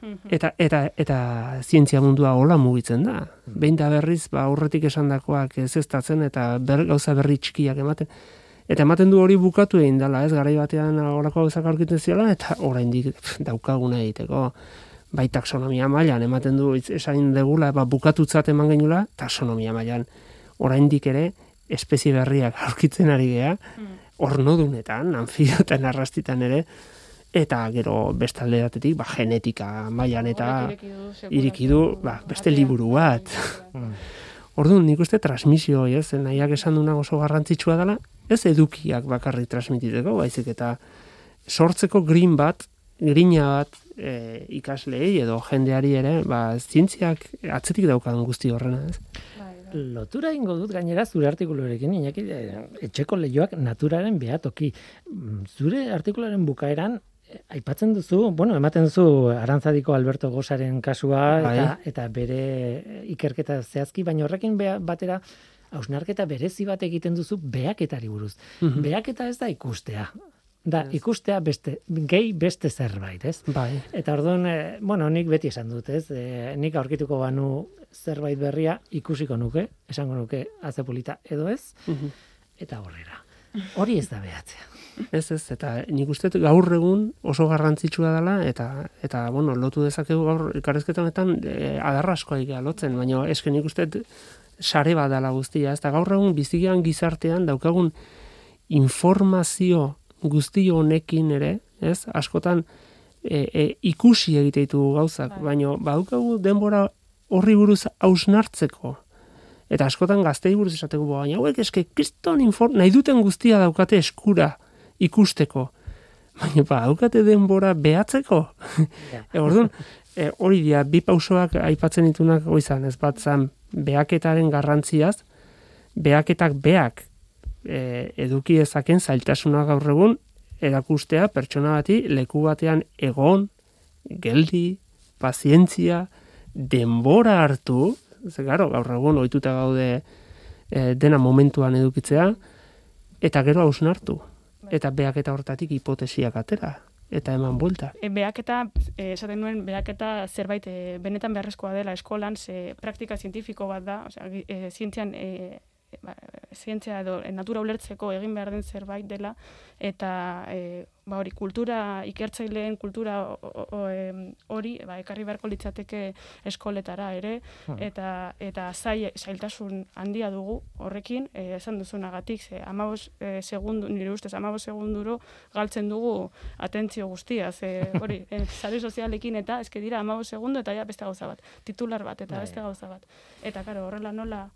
Eta, eta, eta zientzia mundua hola mugitzen da. Behin da berriz, ba, aurretik esandakoak ez eztatzen eta ber, gauza berri txikiak ematen. Eta ematen du hori bukatu egin dela, ez, garai batean horako gauzak aurkitzen ziela, eta oraindik pff, daukaguna egiteko. Bai taxonomia mailan ematen du esain degula, ba, bukatutzat eman genula, taxonomia mailan oraindik ere espezie berriak aurkitzen ari gea, mm. ornodunetan, anfibiotan, arrastitan ere, eta gero bestalde datetik, ba, genetika mailan eta iriki du, ba, beste liburu bat. Orduan, nik uste transmisio, ez, nahiak esan duna oso garrantzitsua dela, ez edukiak bakarrik transmititeko, baizik eta sortzeko green bat, grina bat e, ikasleei edo jendeari ere, ba, zientziak atzetik daukan guzti horrena, ez? Lotura ingo dut gainera zure artikuluarekin, Iñaki, etxeko leihoak naturaren behatoki. Zure artikuluaren bukaeran, aipatzen duzu, bueno, ematen duzu Arantzadiko Alberto Gosaren kasua eta, eta bere ikerketa zehazki, baina horrekin bea, batera hausnarketa berezi bat egiten duzu behaketari buruz. Mm-hmm. Behaketa ez da ikustea. Da, ikustea beste, gehi beste zerbait, ez? Bai. Eta orduan, e, bueno, nik beti esan dut, ez? E, nik aurkituko banu zerbait berria ikusiko nuke, esango nuke azepolita edo ez, mm-hmm. eta horrera. Hori ez da behatzea. Ez, ez, eta nik uste gaur egun oso garrantzitsua dela, eta, eta bueno, lotu dezakegu gaur elkarrizketa honetan e, adarra askoa egia lotzen, baina eske nik uste sare bat dela guztia, ez da gaur egun bizigian gizartean daukagun informazio guzti honekin ere, ez, askotan e, e, ikusi egite ditugu gauzak, baina badaukagu denbora horri buruz hausnartzeko. Eta askotan gaztei buruz esateko, baina hauek eske kriston inform, nahi duten guztia daukate eskura ikusteko. Baina ba, daukate denbora behatzeko. e, orduan, e, hori dia, bi pausoak aipatzen ditunak goizan, ez bat zan, behaketaren garrantziaz, behaketak beak e, eduki ezaken zailtasuna gaur egun erakustea pertsona bati leku batean egon, geldi, pazientzia, denbora hartu, ze garo, gaur egun ohituta gaude e, dena momentuan edukitzea, eta gero hausnartu. Eta behaketa hortatik hipotesiak atera, eta eman buelta. E, behaketa, e, esaten nuen, behaketa zerbait e, benetan beharrezkoa dela eskolan, ze praktika zientifiko bat da, osea, e, zientzian, e, ba, zientzia edo e, natura ulertzeko egin behar den zerbait dela, eta e, ba, hori, kultura, ikertzaileen kultura hori ba, ekarri beharko litzateke eskoletara ere, hmm. eta, eta zai, zailtasun handia dugu horrekin, e, esan duzunagatik, ze amabos e, segundu, nire ustez, amabos segunduro galtzen dugu atentzio guztia, ze hori, e, sare sozialekin eta eske dira amabos segundu eta ja beste gauza bat, titular bat eta beste gauza bat. Eta karo, horrela nola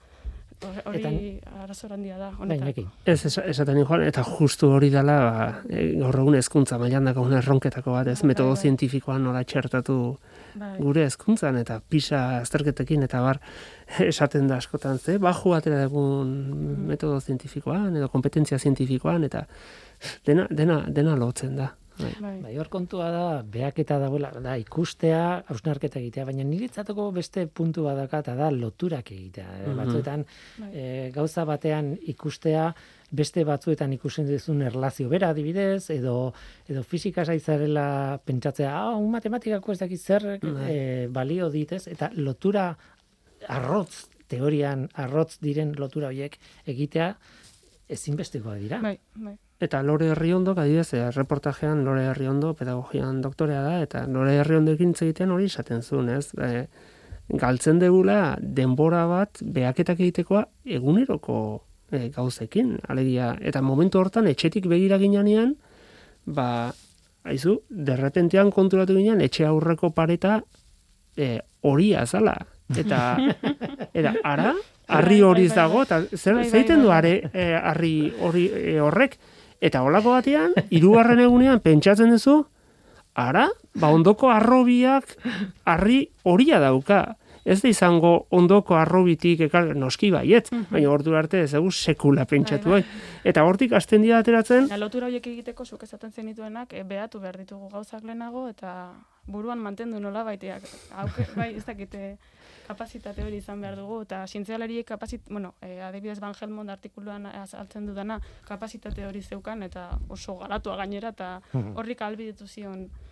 hori arazo handia da honetan. Ez, esaten joan, eta justu hori dela, ba, gaur egun hezkuntza mailan dagoen erronketako bat, ez, metodo zientifikoan nola txertatu gure hezkuntzan eta PISA azterketekin eta bar esaten da askotan, ze, baju atera dugun metodo zientifikoan edo kompetentzia zientifikoan eta dena, dena, dena lotzen da. Bai. Bai, hor kontua da, behaketa dagoela, da, ikustea, hausnarketa egitea, baina niretzateko beste puntu badaka eta da loturak egitea. Mm-hmm. Batzuetan, e, gauza batean ikustea, beste batzuetan ikusten duzun erlazio bera adibidez, edo, edo fisika zaizarela pentsatzea, ah, un matematikako ez dakit zer mm-hmm. e, balio ditez, eta lotura arrotz, teorian arrotz diren lotura horiek egitea, ezinbestekoa dira. Bai, bai. Eta Lore Herriondo, adibidez, reportajean Lore Herriondo pedagogian doktorea da, eta Lore Herriondoekin egiten hori esaten zuen, ez? E, galtzen degula denbora bat behaketak egitekoa eguneroko e, gauzekin, alegia. Eta momentu hortan etxetik begira ginean, ba, haizu, derrepentean konturatu ginean, etxe aurreko pareta e, horia zala. Eta, eta, ara, harri horiz dago, eta zer, zeiten du harri hori horrek, eta holako batean, hirugarren egunean pentsatzen duzu, ara, ba ondoko arrobiak harri horia dauka. Ez da izango ondoko arrobitik ekar, noski baiet, baina ordu arte ez dugu sekula pentsatu. Bai, bai. Eta hortik hasten dira ateratzen. Ja, lotura horiek egiteko zuk esaten zenituenak, e, behatu behar ditugu gauzak lehenago, eta buruan mantendu nola baiteak. Hauke, bai, ez dakite kapazitate hori izan behar dugu, eta zientzialariek kapazit, bueno, e, adibidez Van Helmont artikuluan azaltzen dudana, kapazitate hori zeukan, eta oso garatua gainera, eta horrik ahalbidetu zion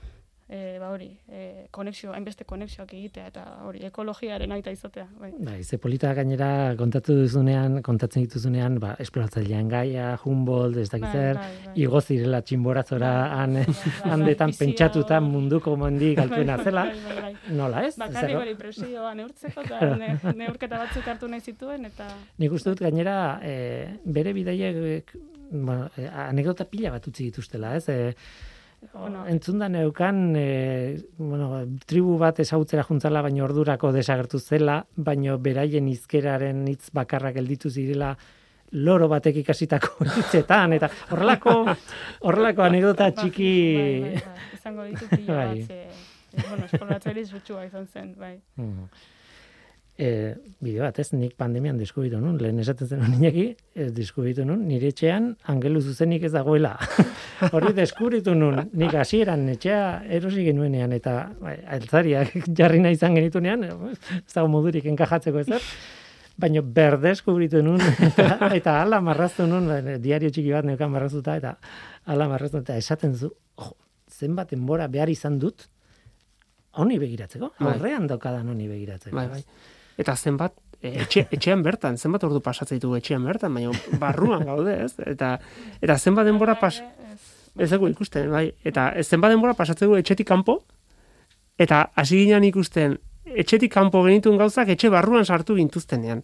e, ba hori, e, konexio, hainbeste konexioak egitea, eta hori, ekologiaren aita izatea. Bai, bai ze polita gainera kontatu duzunean, kontatzen dituzunean, ba, esploratzailean Gaia, Humboldt, ez dakit zer, bai, bai. igo zirela txinborazora Bai, han, bai, bai, bai, handetan bizia pentsatuta hor. munduko mendik altuena zela, Bai, bai, bai. nola ez? Bakarrik Zero? hori presioa neurtzeko, eta ne, neurketa batzuk hartu nahi zituen, eta... Nik uste dut gainera e, bere bidaiek bueno, e, anekdota pila bat utzi dituztela, ez? E, Bueno. entzunda neukan e, bueno, tribu bat ezagutzera juntzala, baino ordurako desagertu zela, baino beraien hizkeraren hitz bakarrak gelditu zirela loro batek ikasitako hitzetan, eta horrelako horrelako anekdota txiki... Bai, bai, bai. Izango ditu pila Bai. bat, ze, e, bueno, esploratzaile zutxua izan zen, bai. Mm. E, bideo bat, ez, nik pandemian deskubritu nun, lehen esaten zen Iñaki, ez deskubritu nun, nire etxean angelu zuzenik ez dagoela. Hori deskubritu nun, nik hasieran etxea erosi genuenean, eta bai, altzariak jarri nahi izan genitunean, ez dago modurik enkajatzeko ezer, baina berdeskubritu nun, eta, eta ala marraztu nun, diario txiki bat neukan marraztuta, eta ala marraztu, eta esaten zu, jo, zenbat denbora behar izan dut, honi begiratzeko, Bai. aurrean daukadan honi begiratzeko. Bai, bai. Eta zenbat, e, etxe, etxean bertan, zenbat ordu pasatzen ditugu etxean bertan, baina barruan gaude, ez? Eta, eta zenbat denbora pas... Ez dugu ikusten, bai. Eta zenbat denbora pasatzen dugu etxetik kanpo, eta hasi ginen ikusten, etxetik kanpo genituen gauzak etxe barruan sartu gintuztenean.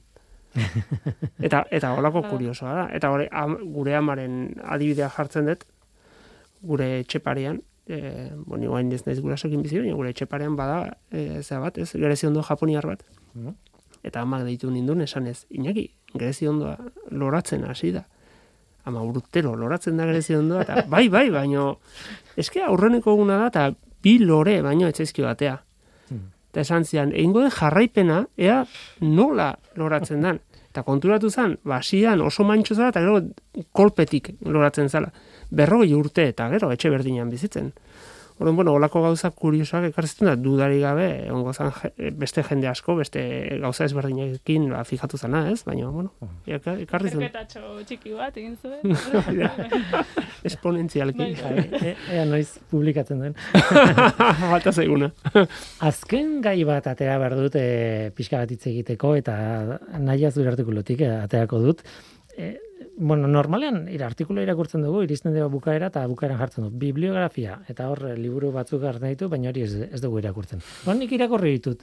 Eta eta holako kuriosoa da. Eta hori, am, gure amaren adibidea jartzen dut, gure etxeparean, e, bueno, iguain ez naiz gurasoekin bizi, baina gure etxeparean bada, e, zera bat, ez, Gereziondo japoniar bat. Mhm. Eta amak deitu nindun esanez, Iñaki, Gereziondoa loratzen hasi da. Ama urtero loratzen da Gereziondoa, eta bai, bai, baino, eske aurreneko eguna da, eta bi lore baino etzaizkio batea. Eta esan zian, egingo den jarraipena, ea nola loratzen dan. Eta konturatu zen, basian oso mantxo zala, eta gero kolpetik loratzen zala. Berrogei urte, eta gero etxe berdinean bizitzen. Orduan, bueno, olako gauzak kuriosoak ekartzen da, dudari gabe, ongo zan beste jende asko, beste gauza ezberdinekin ba, fijatu zana, ez? Baina, bueno, ekarri zen. Zerketatxo txiki bat egin zuen. Esponentzialki. Bai. E, ea noiz publikatzen duen. Falta zaiguna. Azken gai bat atera behar dut e, pixka bat hitz egiteko, eta nahi zure artikulutik e, aterako dut. E, bueno, normalean ir artikulu irakurtzen dugu, iristen dugu bukaera, eta bukaeran jartzen du. Bibliografia, eta hor liburu batzuk hartzen ditu, baina hori ez, ez dugu irakurtzen. Bon, nik irakurri ditut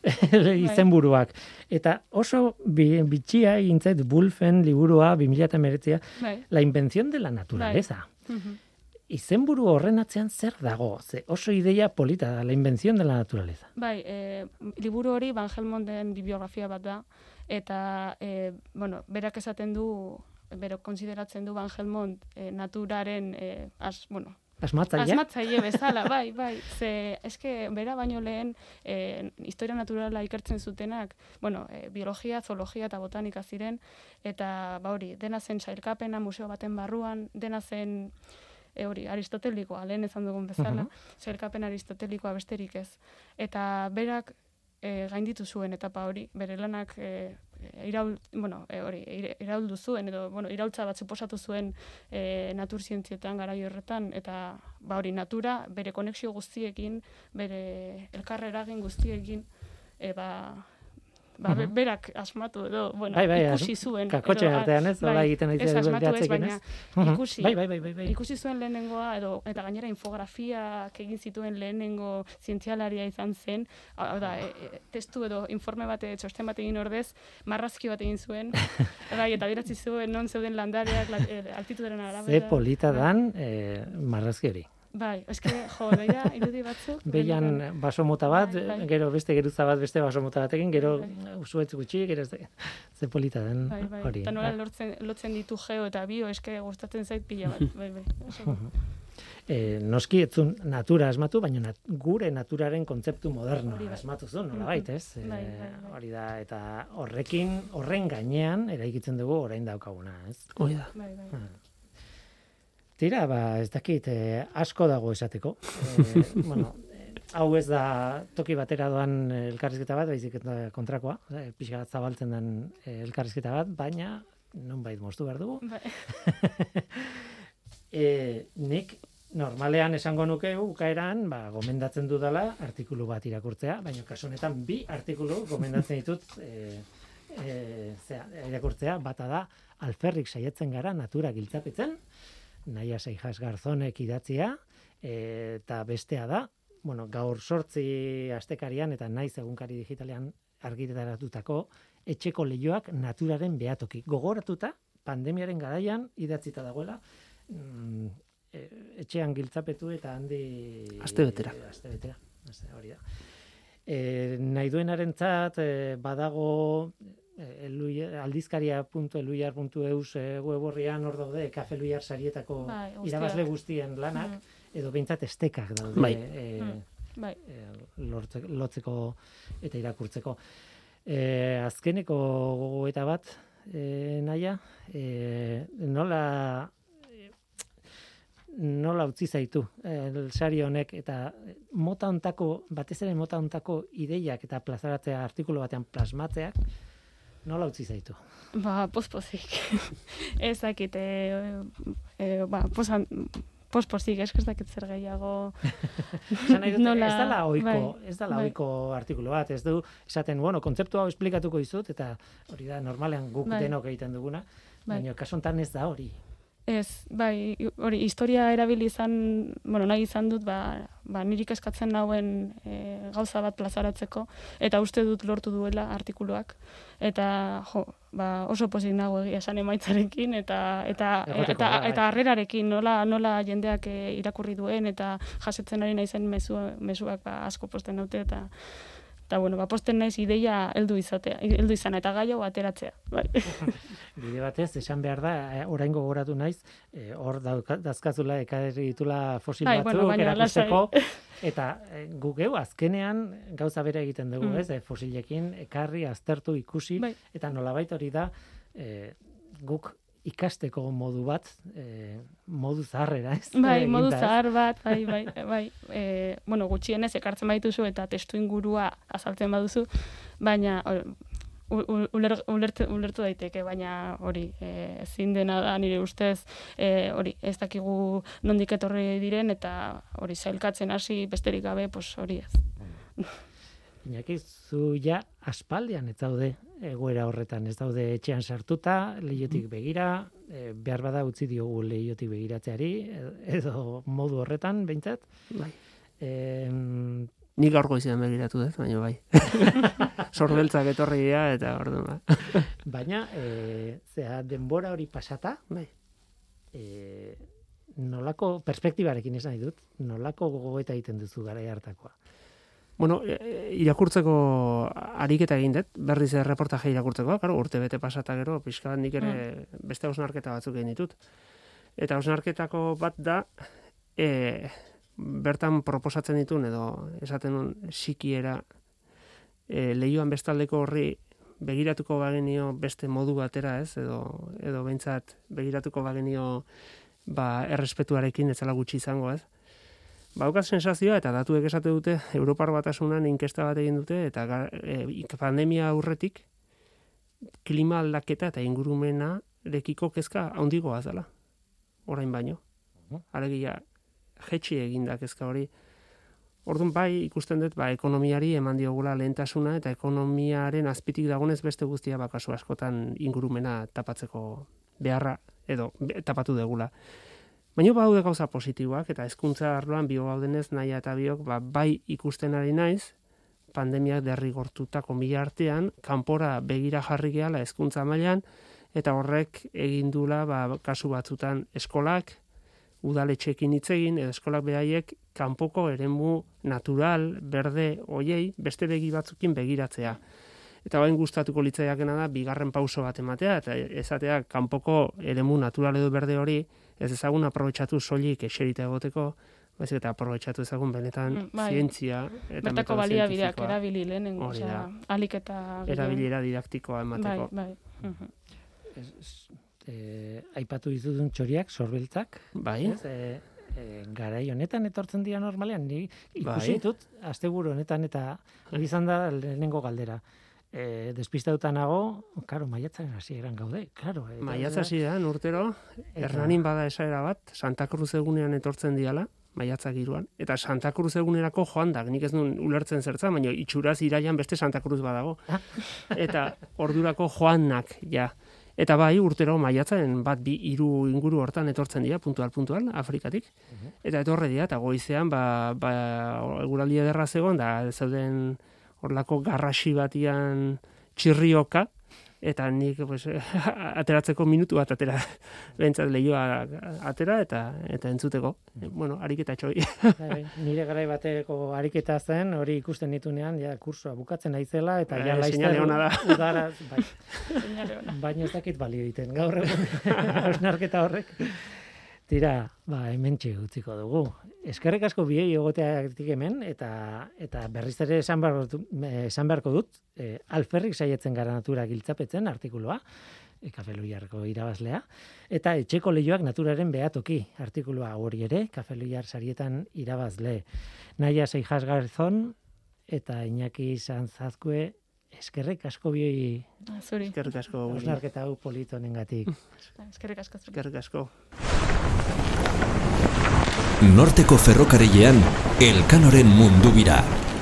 izenburuak. Eta oso bi, bitxia egin zait Bulfen liburua bi mila hemeretzi, Bai. La invención de la naturaleza. Mhm. Izenburu horren atzean zer dago? Ze oso ideia polita da, la invención de la naturaleza. Bai, e, liburu hori Van Helmonten bibliografia bat da, eta, e, bueno, berak esaten du, bero konsideratzen du Van Helmont e, naturaren, e, as, bueno, Asmatzaile? asmatzaile bezala, bai, bai. Ze, eske, bera baino lehen, e, historia naturala ikertzen zutenak, bueno, e, biologia, zoologia eta botanika ziren, eta, ba hori, dena zen sailkapena museo baten barruan, dena zen, E hori, aristotelikoa, lehen ezan dugun bezala, uh-huh. Sailkapen aristotelikoa besterik ez. Eta berak e, gainditu zuen etapa hori, bere lanak e, iraul, bueno, e, hori, irauldu zuen, edo, bueno, iraultza bat suposatu zuen e, naturzientzietan garai horretan, eta ba hori, natura, bere konexio guztiekin, bere elkarre eragin guztiekin, e, ba, ba, uh-huh. berak asmatu edo, bueno, bai, bai, ikusi zuen. Kakotxe artean ez, hola egiten ez aizu asmatu ez, baina uh-huh. ikusi, bai, bai, bai, bai, bai. ikusi zuen lehenengoa, edo, eta gainera infografiak egin zituen lehenengo zientzialaria izan zen, hau da, e, e, testu edo informe bat, txosten bat egin ordez, marrazki bat egin zuen, bai, eta biratzi zuen non zeuden landareak, la, e, altituderen arabera. Ze polita dan e, marrazki hori. Bai, eske, jo, beira, irudi batzuk. Beian baso mota bat, bai, bai. gero beste geruza bat, beste baso mota batekin, gero bai. usuetz gutxi, gero ze, ze polita den bai, bai. hori. Eta nola lortzen, lotzen ditu geo eta bio, eske gustatzen zait pila bat, bai, bai. Oso. E, noski etzun natura asmatu, baina nat, gure naturaren kontzeptu moderno Hori bai. asmatu zuen, nola bait, ez? E, Bai, bai, bai. hori da, eta horrekin, horren gainean, eraikitzen dugu orain daukaguna, ez? Hoi da. Bai, bai. Tira, ba, ez dakit, eh, asko dago esateko. Eh, bueno, eh, hau ez da toki batera doan elkarrizketa bat, baizik eta kontrakoa, eh, pixka bat zabaltzen den eh, elkarrizketa bat, baina nonbait moztu behar dugu. Bai. eh, nik normalean esango nuke ukaeran, ba, gomendatzen dudala artikulu bat irakurtzea, baina kasu honetan bi artikulu gomendatzen ditut e, e, zera, irakurtzea, bata da alferrik saiatzen gara natura giltzapetzen, Naia Seijas Garzonek idatzia, e, eta bestea da, bueno, gaur sortzi astekarian eta naiz egunkari digitalean argitaratutako etxeko leihoak naturaren behatoki. Gogoratuta, pandemiaren garaian idatzita dagoela, mm, etxean giltzapetu eta handi... Astebetera. Astebetera, hori da. E, nahi duenarentzat e, badago e, aldizkaria puntu eluiar puntu eus e, web orrian hor daude Kafe Luiar sarietako bai, irabazle guztien lanak, mm. edo behintzat estekak daude bai. E, mm. bai. e, lortze, lotzeko eta irakurtzeko. E, azkeneko gogoeta bat, e, Naia, e, nola... nola utzi zaitu el sari honek eta mota hontako, batez ere mota hontako ideiak eta plazaratzea artikulu batean plasmatzeak, nola utzi zaitu? Ba, pospozik. Ez dakit, e, e, ba, posan, pospozik, ez dakit zer gehiago... Nola, ez dala oiko, bai, ez dala bai. oiko artikulu bat, ez du, esaten, bueno, kontzeptu hau esplikatuko dizut, eta hori da, normalean guk bai. denok egiten duguna, bai. baina kasu hontan ez da hori. Ez, bai, hori, historia erabili izan, bueno, nahi izan dut, ba, ba nirik eskatzen nauen e, gauza bat plazaratzeko, eta uste dut lortu duela artikuluak, eta, jo, ba, oso pozik nago egia esan emaitzarekin, eta eta Egoteko, eta, bai. eta harrerarekin, nola, nola jendeak e, irakurri duen, eta jasetzen ari naizen mezu, mezuak ba, asko posten naute, eta eta bueno, ba, posten naiz ideia heldu izatea, heldu izana eta gai hau ateratzea. Bai. Bide batez, esan behar da, orain gogoratu naiz, e, hor dauka- dazkazula ekarri ditula fosil Bai, batzuk bueno, baina erakusteko, eta e, guk geu azkenean gauza bera egiten dugu, Mm. ez, e, fosilekin ekarri, aztertu, ikusi, Bai. eta nolabait hori da, e, guk ikasteko modu bat, e, modu zaharrera, ez? Bai, Eginda, modu ez? zahar bat, bai, bai, bai. E, bueno, gutxienez ekartzen badituzu eta testu ingurua azaltzen baduzu, baina or, uler, ulertu, ulertu daiteke, baina hori, e, ezin dena da nire ustez, e, hori, ez dakigu nondik etorri diren eta hori zailkatzen hasi besterik gabe, pues hori ez. Iñaki, zu ja aspaldian ez daude egoera horretan, ez daude etxean sartuta, leihotik begira, e, behar bada utzi diogu leihotik begiratzeari, edo modu horretan, behintzat. Bai. E, Nik gaur goizean begiratu dut, baina bai. Sorbeltzak etorri dira eta orduan ba. baina, e, zera, denbora hori pasata, Bai. e, nolako perspektibarekin esan nahi dut, nolako gogoeta egiten duzu garai hartakoa. Bueno, e, irakurtzeko ariketa egin dut, berriz erreportaje irakurtzeko, claro, urte bete pasata gero, pixka bat nik ere beste hausnarketa batzuk egin ditut. Eta hausnarketako bat da, e, bertan proposatzen ditun, edo esaten nun sikiera, e, lehioan bestaldeko horri begiratuko bagenio beste modu batera, ez, edo, edo behintzat begiratuko bagenio ba, errespetuarekin ez zela gutxi izango, ez. Baukat sensazioa, eta datuek esate dute, Europar Batasunan inkesta bat egin dute, eta e, pandemia aurretik, klima aldaketa eta ingurumena rekiko kezka handigoa zela, orain baino. Alegia, jetxi egin da kezka hori. Orduan bai, ikusten dut, ba, ekonomiari eman diogula lehentasuna, eta ekonomiaren azpitik dagonez beste guztia bakasu askotan ingurumena tapatzeko beharra, edo be, tapatu degula. Baina baude gauza positiboak, eta hezkuntza arloan bio gaudenez naia eta biok, ba, bai ikusten ari naiz, pandemiak derrigortutako mila artean, kanpora begira jarri gehala hezkuntza mailan, eta horrek egin dula, ba, kasu batzutan eskolak, udaletxeekin hitz egin, edo eskolak behaiek kanpoko eremu natural, berde, oiei, beste begi batzukin begiratzea. Eta bain gustatuko litzaiakena da, bigarren pauso bat ematea, eta esatea kanpoko eremu natural edo berde hori, ez ezagun aprobetxatu soilik eserita egoteko, baizik eta aprobetxatu ezagun benetan Mm, bai. zientzia eta Bertako metodo baliabideak zientifikoa, erabili lehenengo, Hori osea, da. alik eta... erabilera didaktikoa Bai, emateko. bai. Mhm. Ez, e, aipatu dituzun txoriak, sorbeltzak, Bai, ez, e, e, garai honetan etortzen dira normalean, ni ikusi Bai. ditut, asteburu honetan, eta hori izan da lehenengo galdera. e, despistauta nago, karo, maiatzaren hasieran gaude, karo. Maiatz hasieran urtero, Hernanin bada esaera bat, Santa Cruz egunean etortzen diala, maiatzak iruan, eta Santa Cruz egunerako joan da, nik ez duen ulertzen zertza, baina itxuraz iraian beste Santa Cruz badago. Eta ordurako joanak, ja. Eta bai, urtero maiatzaren bat bi hiru inguru hortan etortzen dira, puntual, puntual, Afrikatik. Eta etorre dira, eta goizean, ba, ba, eguraldi ederra zegoen, da zeuden horlako garrasi batian txirrioka, eta nik pues, ateratzeko minutu bat atera, behintzat lehioa atera eta eta entzuteko. Bueno, ariketa txoi. Nire garai bateko ariketa zen, hori ikusten nitunean, ja, kursua bukatzen naizela, eta ja laizta seinale ona da. Udara, bai. Baina ez dakit balio egiten, gaur egun, hausnarketa horrek. Tira, ba, hemen utziko dugu. Eskerrik asko biei egoteatik hemen, eta eta berriz ere esan beharko, esan beharko dut, e, alferrik saietzen gara natura giltzapetzen artikuloa, e, Kafe Luiarko irabazlea, eta etxeko leioak naturaren behatoki artikulua hori ere, Kafe Luiar sarietan irabazle. Naia Seijas Garzón eta Iñaki Sanzazkue, eskerrik asko biei. Zuri. Eskerrik asko. Hausnarketa hau polito honengatik. Eskerrik asko. Eskerrik asko. Norteko ferrokarrilean Elkanoren mundu bira.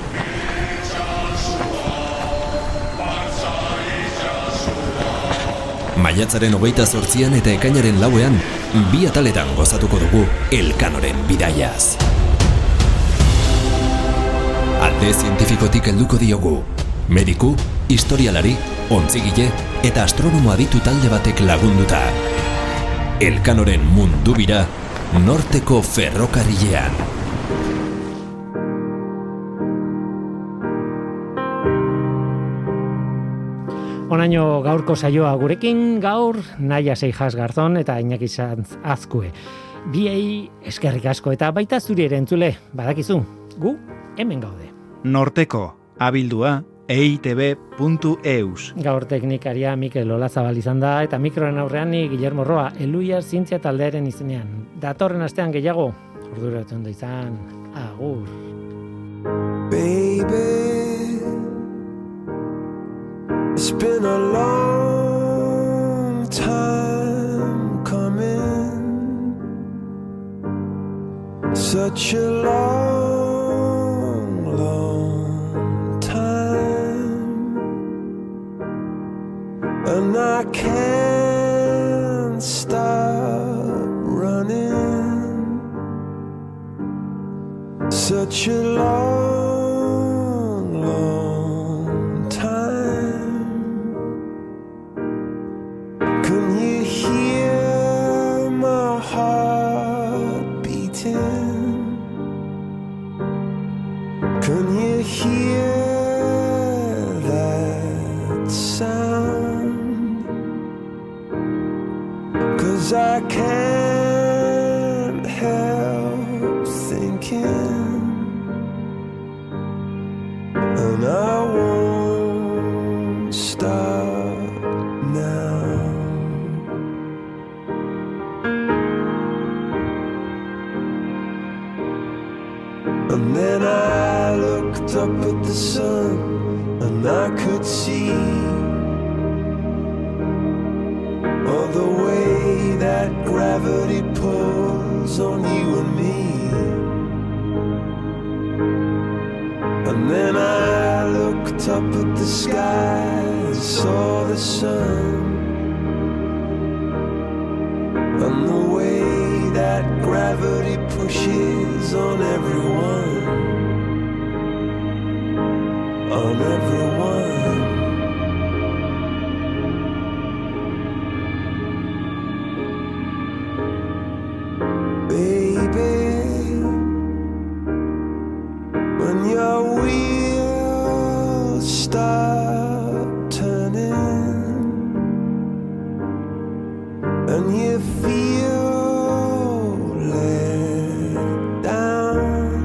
Maiatzaren hogeita zortzian eta ekainaren lauean, bi ataletan gozatuko dugu Elkanoren bidaiaz. Alde zientifikotik helduko diogu. Mediku, historialari, ontzigile eta astronomo aditu talde batek lagunduta. Elkanoren mundu bira, Norteko ferrokarrilean. Onaino gaurko saioa gurekin, gaur Naia Seijas Garzón eta Iñaki Sanzazkue. Biei eskerrik asko eta baita zuri ere entzule, badakizu, gu hemen gaude. Norteko, abildua, e i te be puntu e u s. Gaur teknikaria Mikel Olazabal izan da, eta mikroen aurrean ni Guillermo Roa, Eluiar zientzia taldearen izenean. Datorren astean gehiago, ordura ondo izan, agur. Baby, it's been a long time coming, such a long, long time, and I can't stop running, such a long, long time. Can you hear my heart beating? Can you hear that sound? 'Cause I can't help thinking, and I won't stop now. And then I looked up at the sun, and I could see all the way that gravity pulls on you and me. And then I looked up at the sky and saw the sun, and the way that gravity pushes on everyone, on everyone. Baby, when your wheels start turning and you feel let down,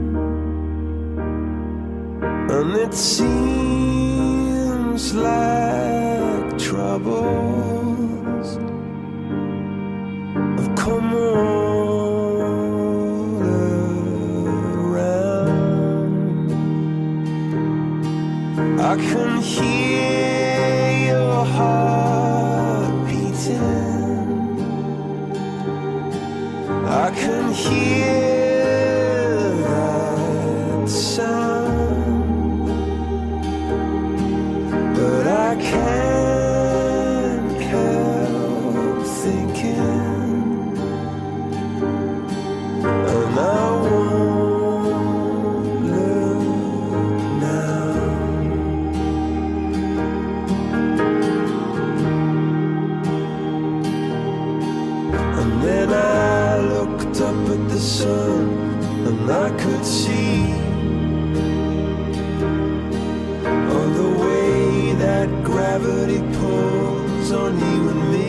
and it seems like troubles have come all around, I can hear I can hear that sound, but I can't help thinking, and I won't look now. And then I looked up at the sun, and I could see all the way that gravity pulls on you and me.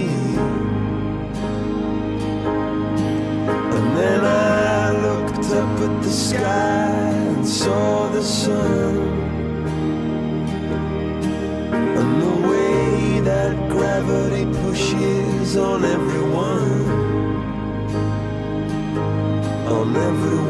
And then I looked up at the sky and saw the sun, and the way that gravity pushes on everyone, on everyone.